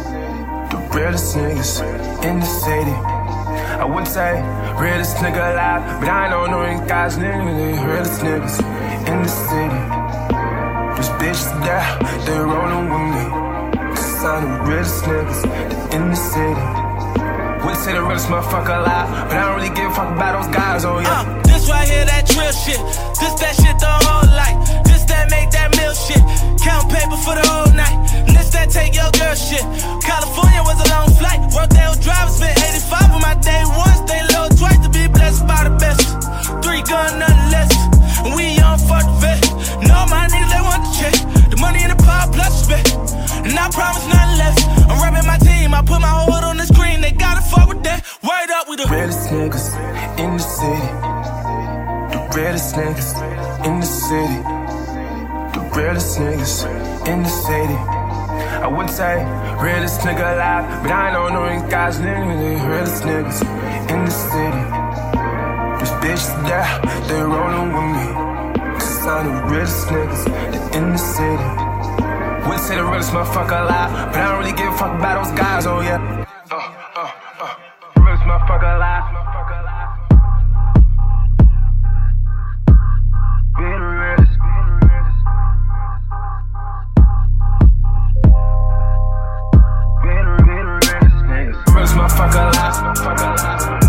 The realest niggas in the city. I would say realest nigga alive, but I don't know these guys, niggas. The realest niggas in the city. These bitches there, they rollin' with me. Cause I'm the realest niggas that's in the city. Would say the realest motherfucker alive, but I don't really give a fuck about those guys, oh yeah. Uh, this right here, that trill shit. This that shit the whole life. This that make that meal shit. Count paper for the whole night. This that take your girl shit. California was a long flight. Worked there with drivers, spent eighty-five on my day once. They low twice to be blessed by the best. Three gun, nothing less. And we young for the vet. No, my niggas, they want the check. The money in the power plus respect. And I promise nothing less. I'm rapping my team, I put my whole hood on the screen. They gotta fuck with that. Word up with the realest niggas in the city. The realest niggas in the city. The realest niggas in the city. I would say realest nigga alive, but I don't know these guys, niggas. The realest niggas in the city. These bitches there, they rollin' with me. Cause I'm the realest niggas that's in the city. Would say the realest motherfucker alive, but I don't really give a fuck about those guys, oh yeah. Uh, uh, uh, realest motherfucker alive. Be the realest, be the realest. Be the, be the realest niggas. Realest motherfucker alive, motherfucker alive.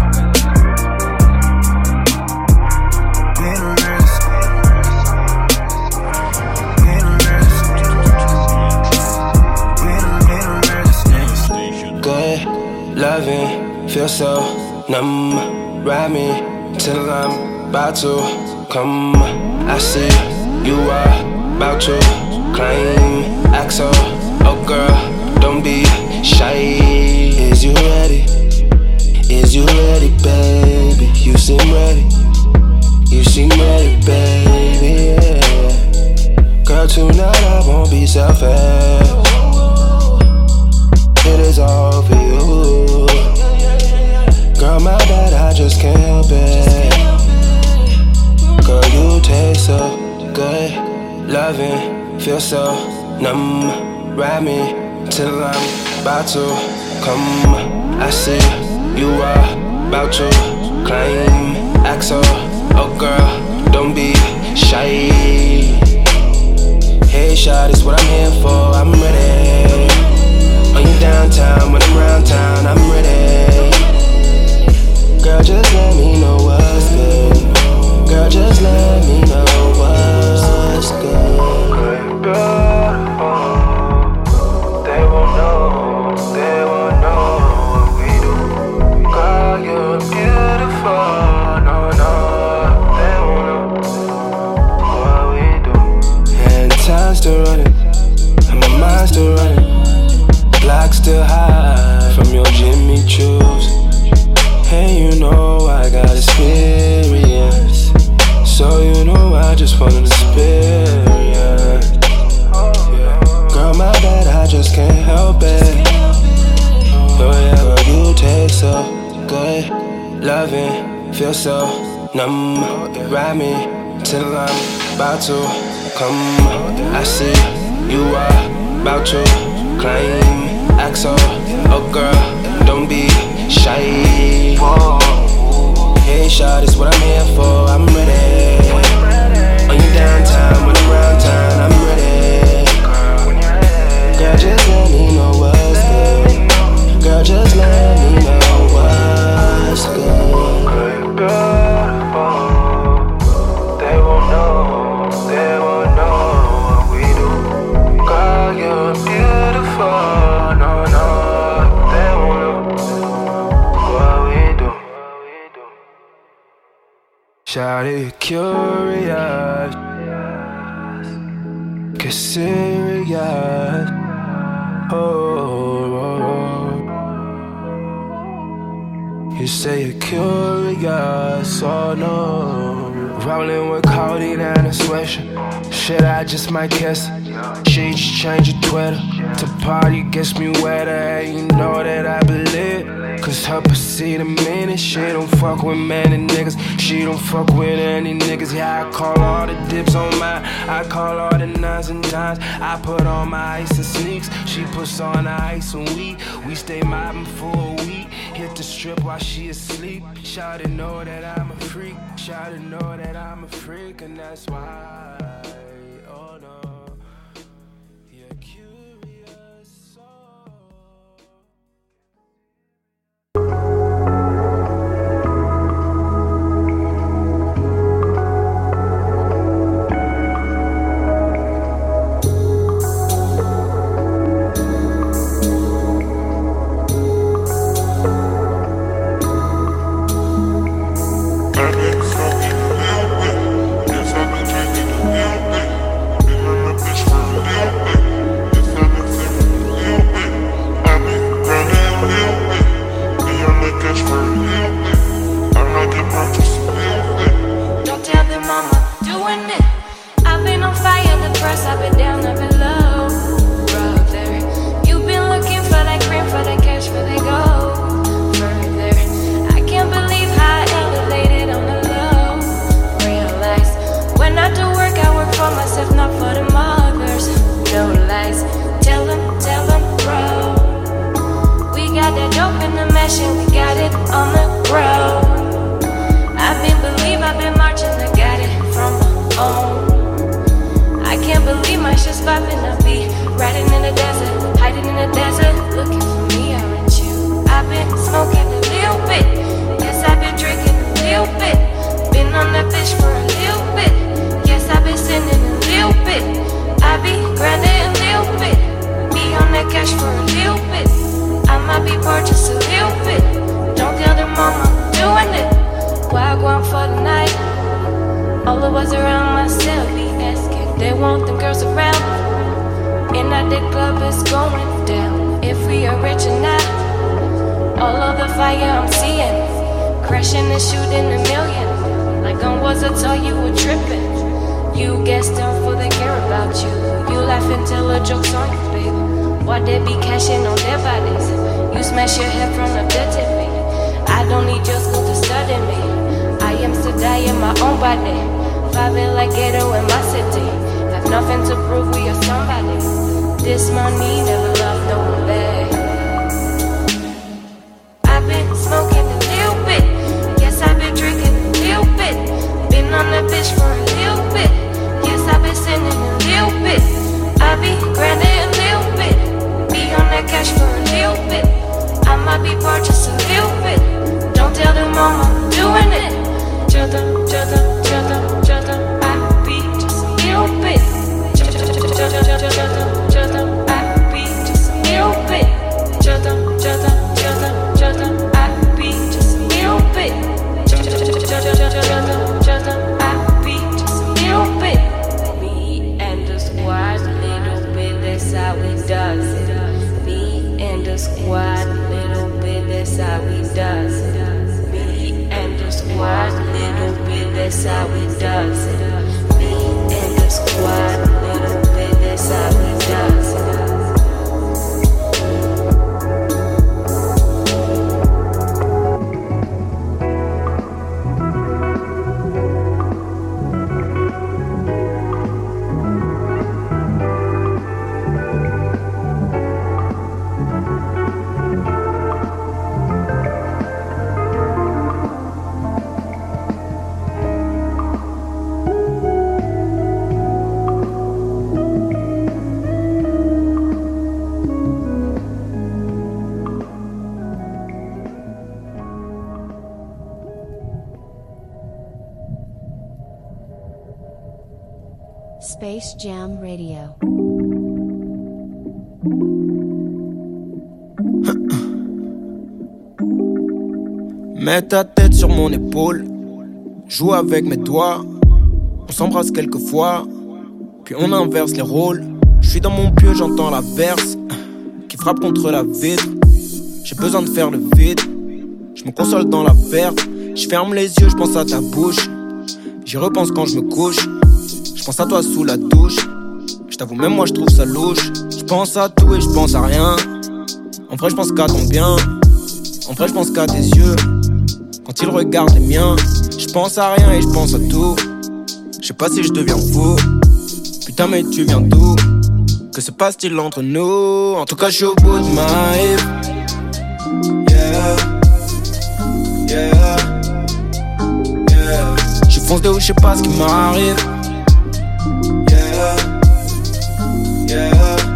Be the realest. Loving, feel so numb. Ride me till I'm about to come. I see you are about to climb. Axel, oh girl, don't be shy. Is you ready? Is you ready, baby? You seem ready. You seem ready, baby, yeah. Girl, tonight I won't be selfish. It is all for you. Girl, my bad, I just can't help it. Girl, you taste so good. Loving, feel so numb. Ride me till I'm about to come. I see you are about to climb. Axel, oh girl, don't be shy. Hey, shot is what I'm here for, I'm ready. When you downtown, when I'm round town, I'm ready. Girl, just let me know what's good. Girl, just let me know what's good. Girl, they won't know, they won't know. loving, feel so numb. Ride me till I'm about to come. I see you are about to climb. Axel, oh girl, don't be shy. Hey, shot is what I'm here for. I'm ready. On your downtime, when I'm round town, I'm ready. Girl, just let me know what's good. Girl, just let me know what's good. They won't know, they won't know what we do. Girl, you're beautiful. No, no, they won't know what we do. Shawty curious, get serious. Oh, oh, oh. You say you're curious, oh no. Rolling with codeine and a sweatshirt. Shit, I just might kiss her. She just change your Twitter to party gets me wetter, and you know that I believe. Cause her pussy the meanest. She don't fuck with many niggas. She don't fuck with any niggas. Yeah, I call all the dips on mine. I call all the nines and dimes. I put on my ice and sneaks. She puts on the ice and we We stay mobbing for a week. Hit the strip while she asleep. Shawty know that I'm a freak. Shawty know that I'm a freak. And that's why, oh no, you're curious, oh. Don't tell them I'm doing it. I've been on fire, the press, I've been down, I've been low. Brother, you've been looking for that cream, for that cash, for that gold. Further, I can't believe how I elevated on the low. Realize, when I do work, I work for myself, not for the mothers. No lies, tell them, tell them, bro. We got that dope in the mesh and we got it on the ground. I've been believe I've been marching, I got it from my own. I can't believe my shit's popping. I be riding in the desert, hiding in the desert, looking for me, aren't you? I've been smoking a little bit, yes I've been drinking a little bit, been on that bitch for a little bit, yes I've been sending a little bit, I be grinding a little bit, be on that cash for a little bit, I might be poor just a little bit. Don't tell them mama I'm doing it. Why I go on for the night? All of us around myself be asking. They want them girls around. And that the club is going down. If we are rich or not. All of the fire I'm seeing. Crashing and shooting a million. Like on was I told you were tripping. You guessed them for they care about you. You laugh and tell the jokes on you, baby. Why they be cashing on their bodies? You smash your head from the dirt at me. I don't need your school to study me. I am still dying my own body. Vibing like ghetto in my city. Have nothing to prove we are somebody. This money never loved no one back. I've been smoking a little bit. Yes, I've been drinking a little bit. Been on that bitch for a little bit. Yes, I've been sending a little bit. I be grinding a little bit. Be on that cash for a little bit. I might be poor just a little bit. Don't tell them mama I'm doing it. Tell them, tell them, tell them, tell them I be just a little bit. Tell them, tell them I be just a little bit. Tell them, tell them, tell them, tell them I be just a little bit. Tell them, tell them I be just a little bit. Me and the squad, little bit, that's how we does it. Me and the squad, little bit, that's how we does it. Me and the squad, little bit, that's how we does it. Me and the squad, little bit, that's how we does it. Space Jam Radio. Mets ta tête sur mon épaule, joue avec mes doigts. On s'embrasse quelques fois, puis on inverse les rôles. Je suis dans mon pieu, j'entends la verse qui frappe contre la vitre. J'ai besoin de faire le vide, je me console dans la perte. Je ferme les yeux, je pense à ta bouche. J'y repense quand je me couche. Je pense à toi sous la douche. Je t'avoue, même moi je trouve ça louche. Je pense à tout et je pense à rien. En vrai je pense qu'à ton bien. En vrai je pense qu'à tes yeux quand ils regardent les miens. Je pense à rien et je pense à tout. Je sais pas si je deviens fou. Putain mais tu viens d'où? Que se passe-t-il entre nous? En tout cas je suis au bout de ma life. Yeah. Yeah. Yeah. Je fonce de où je sais pas ce qui m'arrive. Yeah. Yeah.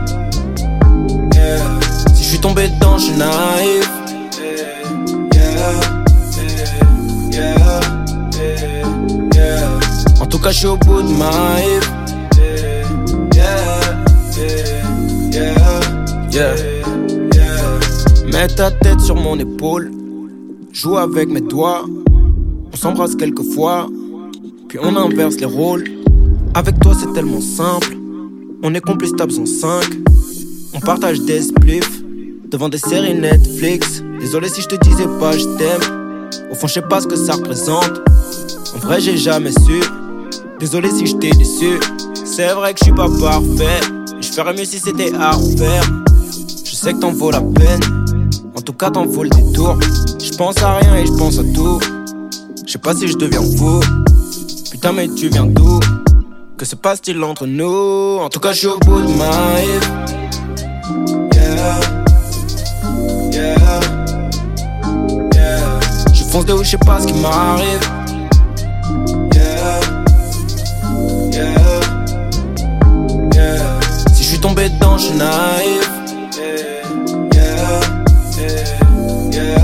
Yeah. Si je suis tombé dedans je suis naïf. Yeah. Yeah. Yeah. Yeah. En tout cas je suis au bout de ma life. Yeah. Yeah. Yeah. Yeah. Mets ta tête sur mon épaule, joue avec mes doigts. On s'embrasse quelques fois, puis on inverse les rôles. Avec toi c'est tellement simple. On est complices tables en cinq. On partage des spliffs devant des séries Netflix. Désolé si je te disais pas je t'aime. Au fond je sais pas ce que ça représente. En vrai j'ai jamais su. Désolé si je t'ai déçu. C'est vrai que je suis pas parfait. Je ferais mieux si c'était à refaire. Je sais que t'en vaut la peine. En tout cas t'en vaut le détour. Je pense à rien et je pense à tout. Je sais pas si je deviens fou. Putain mais tu viens d'où? Que se passe-t-il entre nous? En tout cas je suis au bout de ma life. Yeah. Yeah. Yeah. Je fonce de où je sais pas ce qui m'arrive. Yeah. Yeah. Yeah. Si je suis tombé dedans je suis naïf. Yeah. Yeah.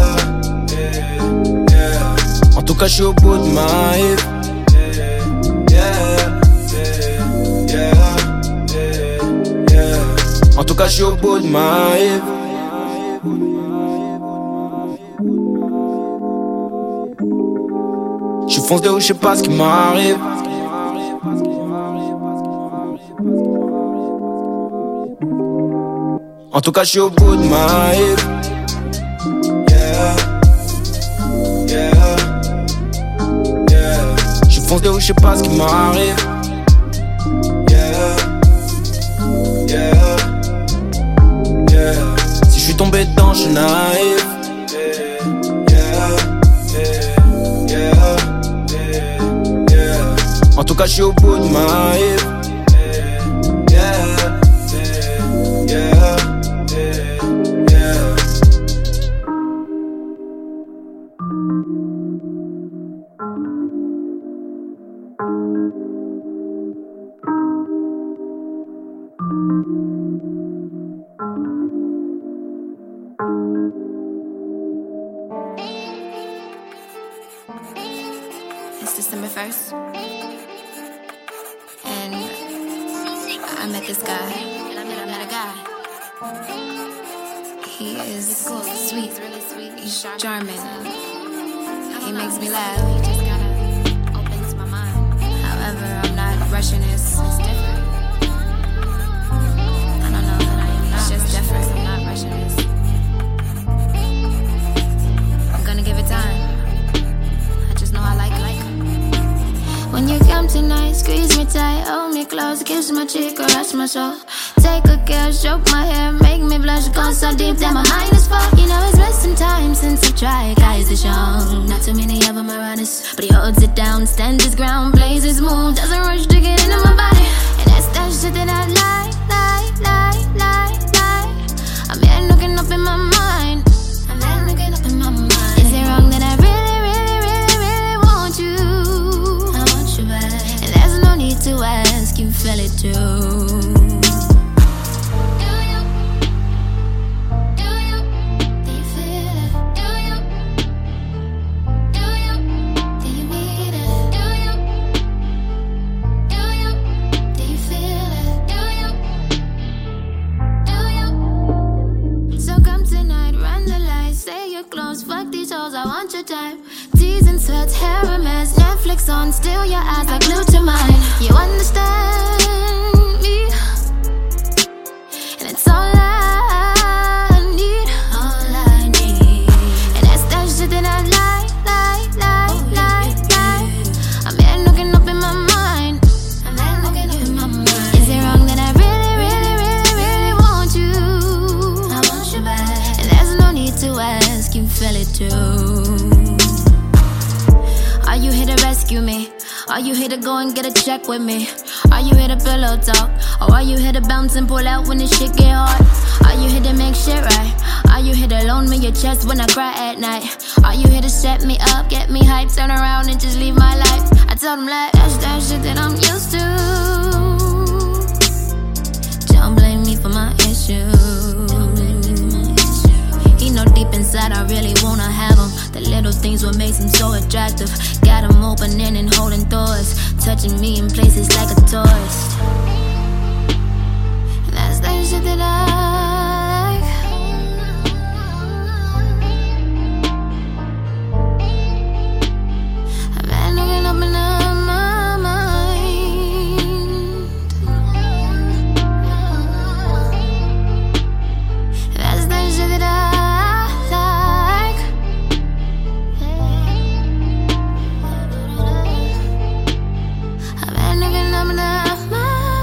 Yeah. En tout cas je suis au bout de ma life. En tout cas, je suis au bout de ma life. Je fonce de où je sais pas ce qui m'arrive. En tout cas, je suis au bout de ma life. Yeah. Yeah. Yeah. Je fonce de où je sais pas ce qui m'arrive. Yeah. Yeah. Yeah. Si je suis tombé dedans, je suis naïf. Yeah. Yeah. Yeah. En tout cas, je suis au bout de ma life. Yeah. Yeah. Yeah. It's December first, and I met this guy. And I met, I met a guy. He is cool, sweet, really sweet. He's charming. He makes me laugh. He just kinda opens my mind. However, I'm not rushing this. It's different. I don't know that I am. It's just different. I'm not rushing this. I'm gonna give it time. No, I like, like when you come tonight, squeeze me tight, hold me close, kiss my cheek, caress my soul. Take a care, stroke my hair, make me blush, go so deep that my mind is full. You know it's been some time since I tried, guys are shown. Not too many of them are honest, but he holds it down, stands his ground, plays his move, doesn't rush to get into my body. And that's that shit that I like, like, like, like, like. I'm here looking up in my mind. I'm here looking up in my mind. Is it wrong that I really you? I want you back, and there's no need to ask, you feel it too. Do you? Do you? Do you feel it? Do you? Do you? Do you need it? Do you? Do you? Do you feel your type. D's and sweats, hair a mess, Netflix on, still your eyes are glued to mine. You understand me, and it's all I need, all I need. And that's that shit that I like, like, like, like, like. I'm here looking up in my mind. I'm here looking up in my mind. Is it wrong that I really, really, really, really want you? I want you back, and there's no need to ask, you feel it too. Are you here to rescue me? Are you here to go and get a check with me? Are you here to pillow talk? Or are you here to bounce and pull out when the shit get hard? Are you here to make shit right? Are you here to loan me your chest when I cry at night? Are you here to set me up, get me hyped, turn around and just leave my life? I tell them like, that's that shit that I'm used to. Don't blame me for my issues. He know deep inside I really wanna have him. The little things what makes him so attractive. Got him opening and holding doors, touching me in places like a tourist. And that's that shit that I like. I've been looking up and down my mind. That's that shit that I looking up and down my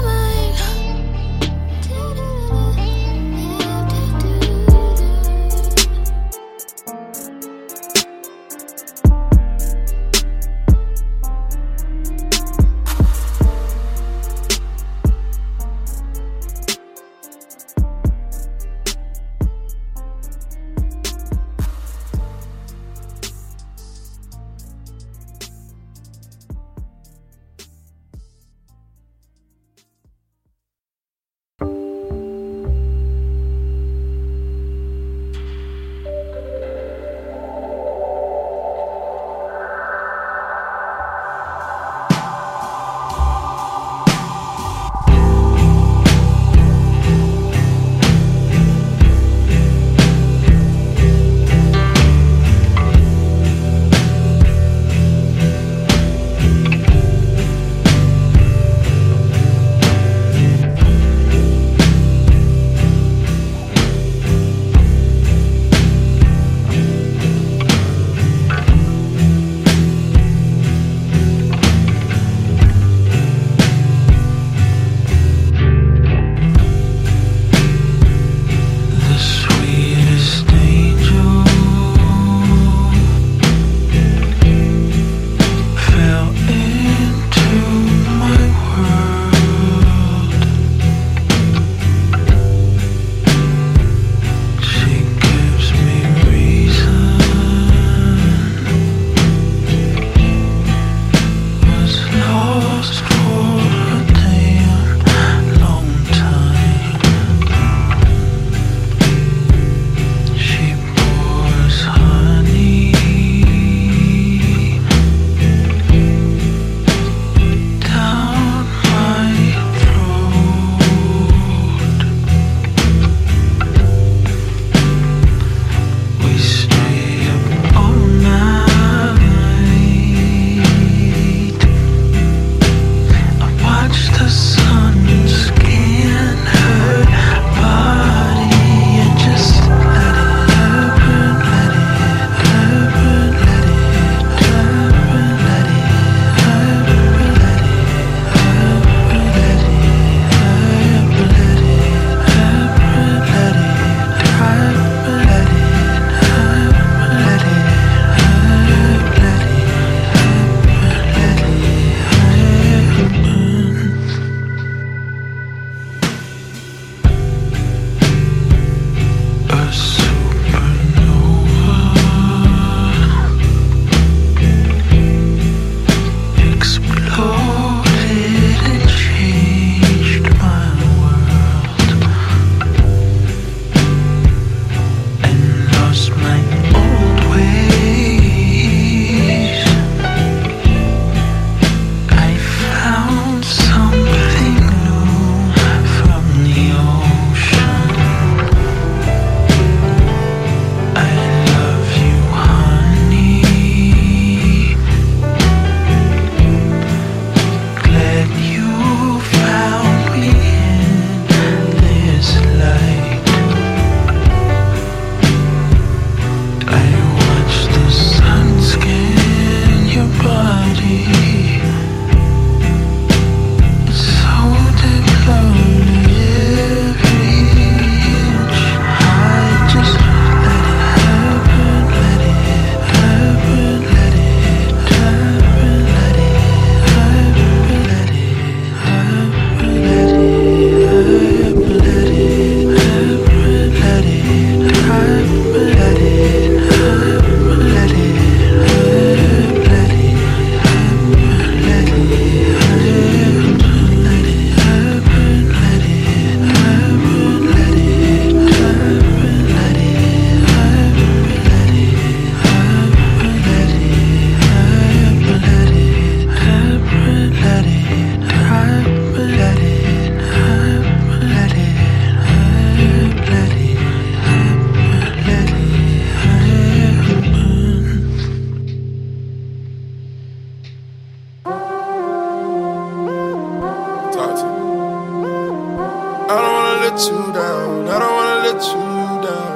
let you down. I don't wanna let you down.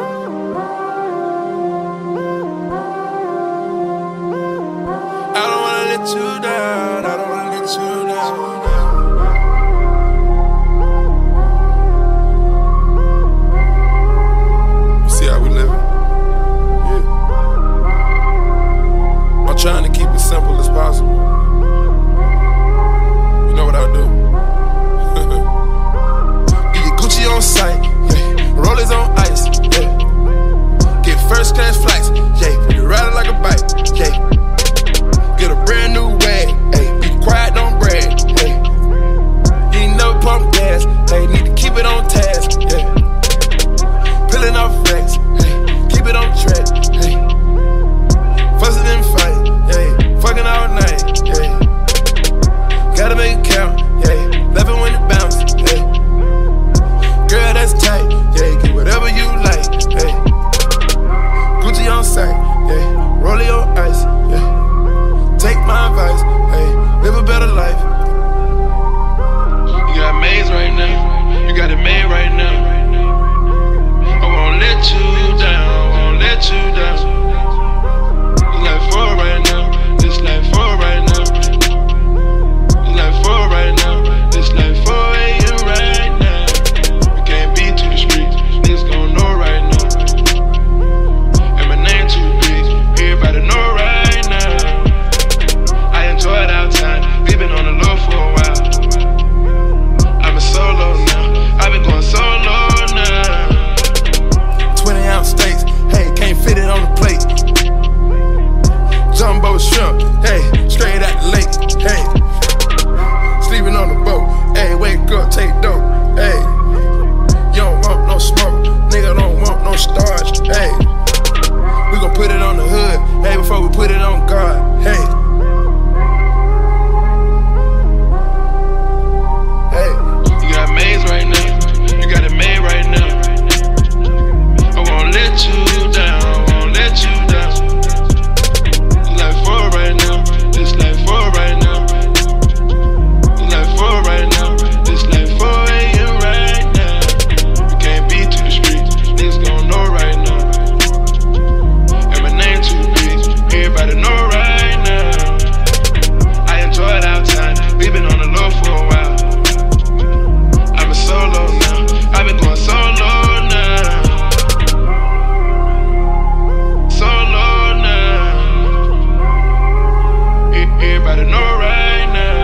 I don't wanna let you down. I don't wanna let you down. You see how we living? Yeah. I'm trying to keep it simple as possible. You know what I do? Get your Gucci on sight, yeah. Rollers on ice, yeah. Get first class flights, yeah. You riding like a bike, yeah. Get a brand new wag, hey. Be quiet, don't brag, hey. You ain't never pump gas, hey. Need to keep it on task, yeah. Peeling off racks, hey. Keep it on track, hey. Fussing and fight, yeah. Fucking all night, yeah. Gotta make it count, yeah. Laughing when it bounce, yeah. Girl, that's tight, yeah. Get whatever you like, hey. Gucci on sight, yeah. Rollie on ice, yeah. Take my advice, hey. Live a better life. You got maze right now, you got it made right now. I won't let you down, I won't let you down. It's like four right now, it's like four right now. It's like four right now, it's like four a m right now. We can't be to the streets, niggas gon' know right now. And my name too big, everybody know right now. I enjoyed our time, we been on the low for a while. I'm a solo now, I've been going solo now. twenty ounce steaks, hey, can't fit it on the plate. Jumbo shrimp, hey, straight out the lake, hey. Sleeping on the boat, hey, wake up, take dope, hey. You don't want no smoke, nigga don't want no starch, hey. We gon' put it on the hood, hey, before we put it on God, hey. Hey, you got maze right now, you got it made right now. I won't let you down, I won't let you down. It's like four right now, it's like four right now. It's like four right now, it's like four a m right now. We can't be to the streets, niggas gon' know right now. And my name too big, everybody know right now. I enjoyed our time, we been on the low for a while. I'm a solo now, I've been going solo now. Solo now. E- Everybody know right now.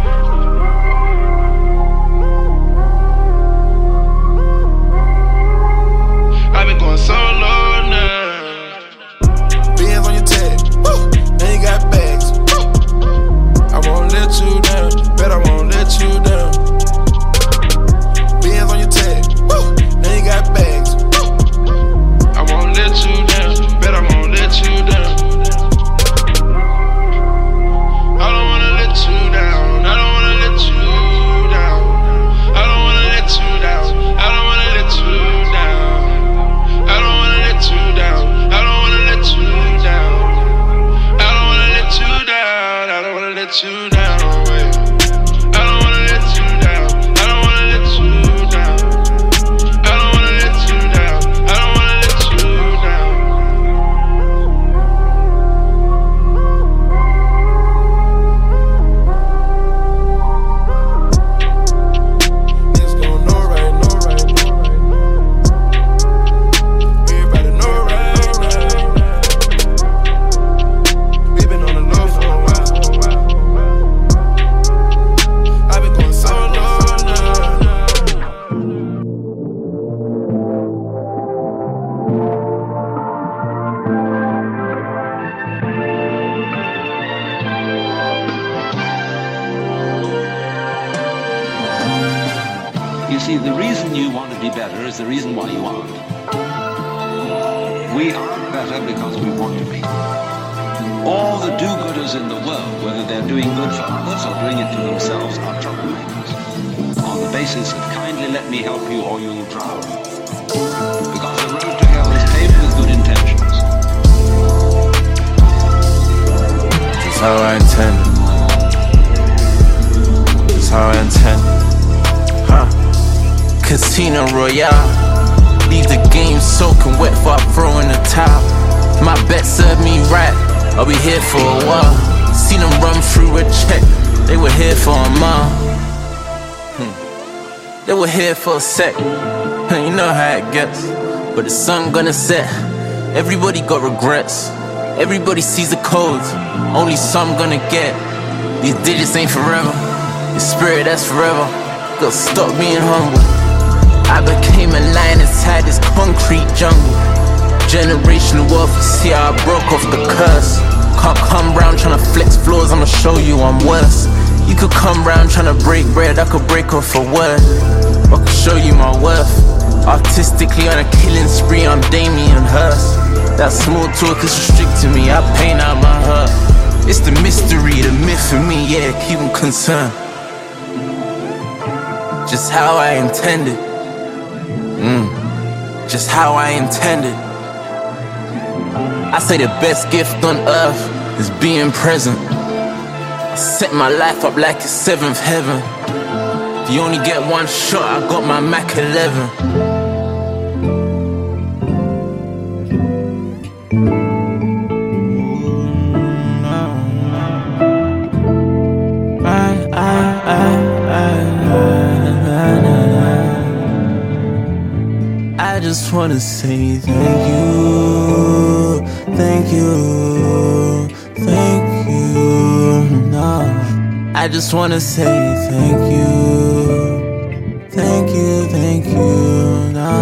I've been going solo now. Bands on your tag, woo. Now you got bags, woo. I won't let you down, bet I won't let you down. Bands on your tag, woo. Now you got bags, woo. I won't let you down, bet I won't let you down. I don't wanna let you down, I don't wanna let you down. I don't wanna let you down, I don't wanna let you down. I don't wanna let you down, I don't wanna let you down. I don't wanna let you down, I don't wanna let you down. Wait. I don't wanna let you down, I don't wanna let you down. I don't wanna let you down, I don't wanna let you down. Niggas gon' know right, know right, know right. Everybody know right now. We been on the low for a while. I've been going solo now. You see, the reason you want to be better is the reason why you aren't. We aren't better because we want to be. All the do-gooders in the world, whether they're doing good for others or doing it to themselves, are troublemakers. On the basis of kindly let me help you or you'll drown. Because the road to hell is paved with good intentions. That's how I intend. That's how I intend. Huh. Casino Royale. Leave the game soaking wet before I throw in the towel. My bet served me right, I'll be here for a while. Seen them run through a check, they were here for a mile. hmm. They were here for a sec, you know how it gets. But the sun gonna set, everybody got regrets. Everybody sees the codes, only some gonna get. These digits ain't forever, the spirit that's forever. Gotta stop being humble. I became a lion inside this concrete jungle. Generational wealth, you see how I broke off the curse. Can't come round tryna flex floors, I'ma show you I'm worse. You could come round tryna break bread, I could break off a word. I could show you my worth. Artistically on a killing spree, I'm Damien Hirst. That small talk is restricting me, I paint out my hurt. It's the mystery, the myth for me, yeah, keep them concerned. Just how I intended. Mm. Just how I intended. I say the best gift on earth is being present. I set my life up like it's seventh heaven. If you only get one shot, I got my Mac eleven. I just wanna say thank you, thank you, thank you, no. I just wanna say thank you, thank you, thank you, no.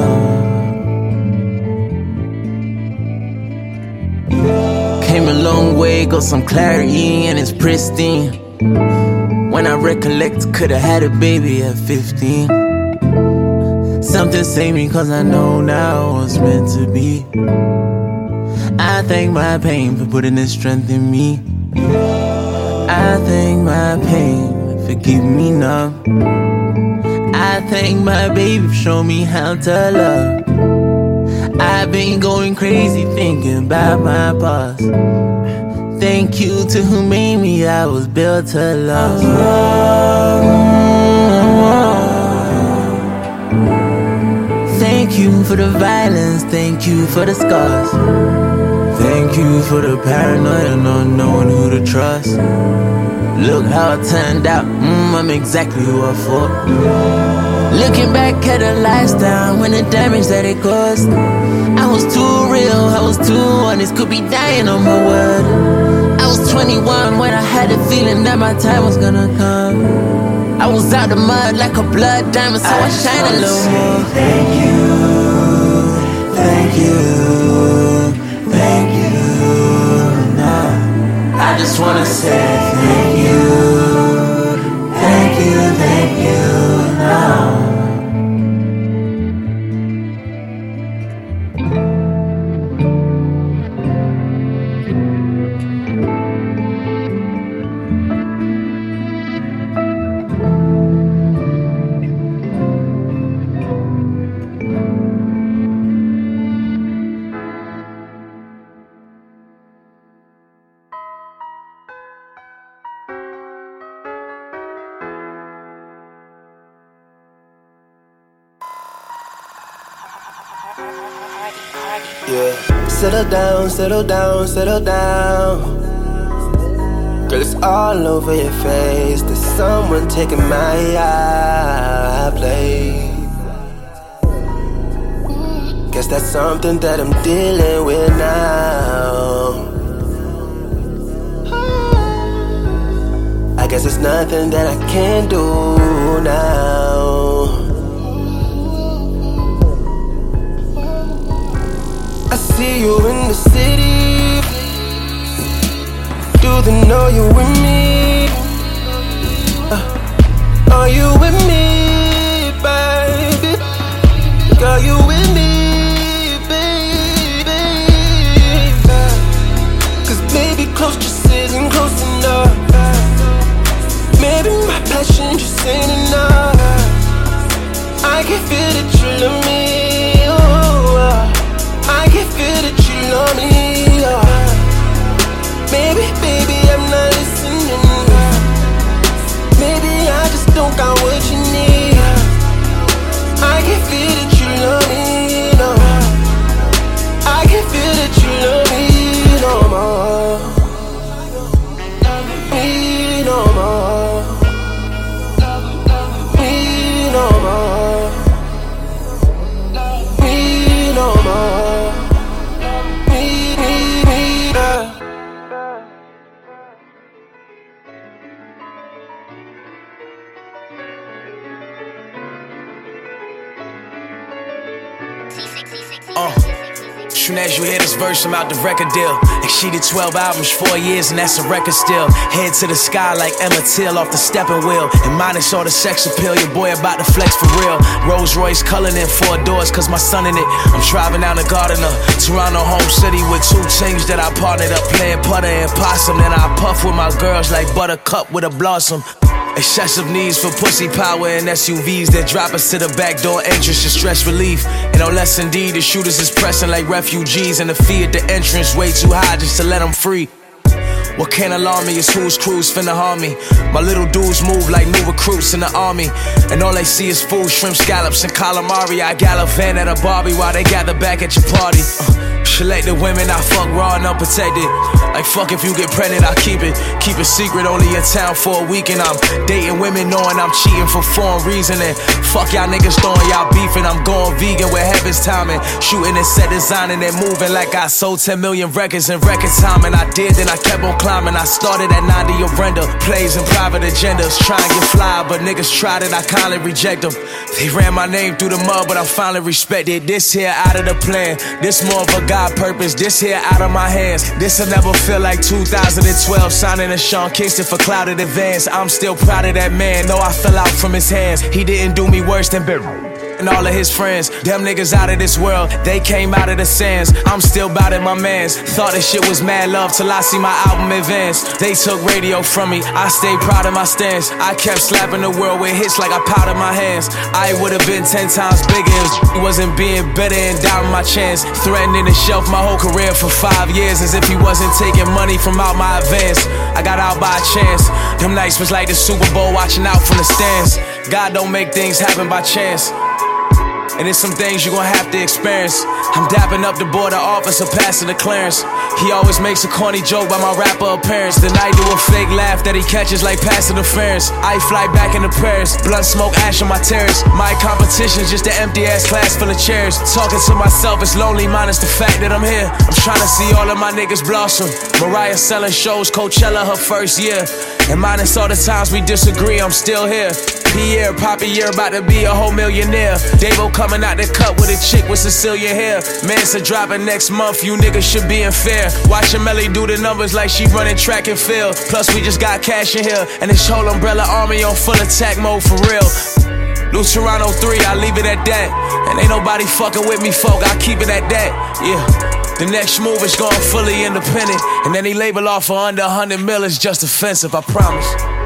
Came a long way, got some clarity and it's pristine. When I recollect, could've had a baby at fifteen. Something saved me cause I know now what's meant to be. I thank my pain for putting this strength in me. I thank my pain for keeping me numb. I thank my baby for showing me how to love. I've been going crazy thinking about my past. Thank you to who made me, I was built to love. Thank you for the violence, thank you for the scars. Thank you for the paranoia, not knowing who to trust. Look how it turned out, mm, I'm exactly who I thought. Looking back at the lifestyle, when the damage that it caused. I was too real, I was too honest, could be dying on my word. I was twenty-one when I had the feeling that my time was gonna come. I was out the mud like a blood diamond, so I, I shine a little more. Thank you, thank you, thank you, no. I just wanna say thank you, thank you, thank you, no. Yeah, settle down, settle down, settle down. Girl, it's all over your face. There's someone taking my eye place. Guess that's something that I'm dealing with now. I guess it's nothing that I can do now. I see you in the city. Do they know you with me? Uh, are you with me, baby? Girl, you with me, baby? Cause maybe close just isn't close enough. Maybe my passion just ain't enough. I can feel that you love me, oh. I can feel that you love me, oh. Maybe, baby, I'm not listening. Maybe I just don't got what you need. soon as you hear this verse, I'm out the record deal. And she did twelve albums, four years, and that's a record still. Head to the sky like Emmett Till off the stepping wheel. And minus all the sex appeal, your boy about to flex for real. Rolls Royce Cullinan, four doors, cause my son in it. I'm driving down the Gardiner, Toronto, home city, with two things that I partnered up, playing putter and possum. Then I puff with my girls like buttercup with a blossom. Excessive needs for pussy power and S U Vs that drop us to the back door entrance to stress relief. And no less indeed, the shooters is pressing like refugees, and the fee at the entrance way too high just to let them free. What can't alarm me is whose crews finna harm me. My little dudes move like new recruits in the army, and all they see is food, shrimp, scallops, and calamari. I gallivant at a Barbie while they gather back at your party. uh, Selected women, I fuck raw and unprotected. Like fuck if you get pregnant, I keep it. Keep it secret, only in town for a week. And I'm dating women knowing I'm cheating for foreign reason. And fuck y'all niggas throwing y'all beef, and I'm going vegan with heaven's timing. Shooting and set designing and moving like I sold ten million records in record time. And I did, then I kept on climbing. I started at ninety of render. Plays and private agendas. Try and get fly, but niggas tried it, I kindly reject them. They ran my name through the mud, but I finally respected. This here out of the plan. This more of a God purpose. This here out of my hands. This'll never feel like two thousand twelve signing a Sean Kingston for clouded advance. I'm still proud of that man, though I fell out from his hands. He didn't do me worse than Bill and all of his friends. Them niggas out of this world, they came out of the sands. I'm still bout it, my mans. Thought this shit was mad love till I see my album advance. They took radio from me, I stayed proud of my stance. I kept slapping the world with hits like I powdered my hands. I would've been ten times bigger if he wasn't being better and doubting my chance. Threatening to shelf my whole career for five years as if he wasn't taking money from out my advance. I got out by a chance. Them nights was like the Super Bowl watching out from the stands. God don't make things happen by chance, and it's some things you gon' have to experience. I'm dapping up the border officer, passing the clearance. He always makes a corny joke by my rapper appearance. Then I do a fake laugh that he catches like pass interference. I fly back into Paris, blunt smoke, ash on my terrace. My competition's just an empty ass class full of chairs. Talking to myself, it's lonely minus the fact that I'm here. I'm trying to see all of my niggas blossom. Mariah selling shows, Coachella her first year. And minus all the times we disagree, I'm still here. Pierre, Poppy, you're about to be a whole millionaire. Davo coming out the cut with a chick with Cecilia hair. Mansa dropping next month, you niggas should be in fair. Watching Melly do the numbers like she running track and field. Plus we just got cash in here, and this whole umbrella army on full attack mode for real. New Toronto three, I leave it at that. And ain't nobody fucking with me, folk, I keep it at that. Yeah. The next move is going fully independent, and any label offer under a hundred mil is just offensive, I promise.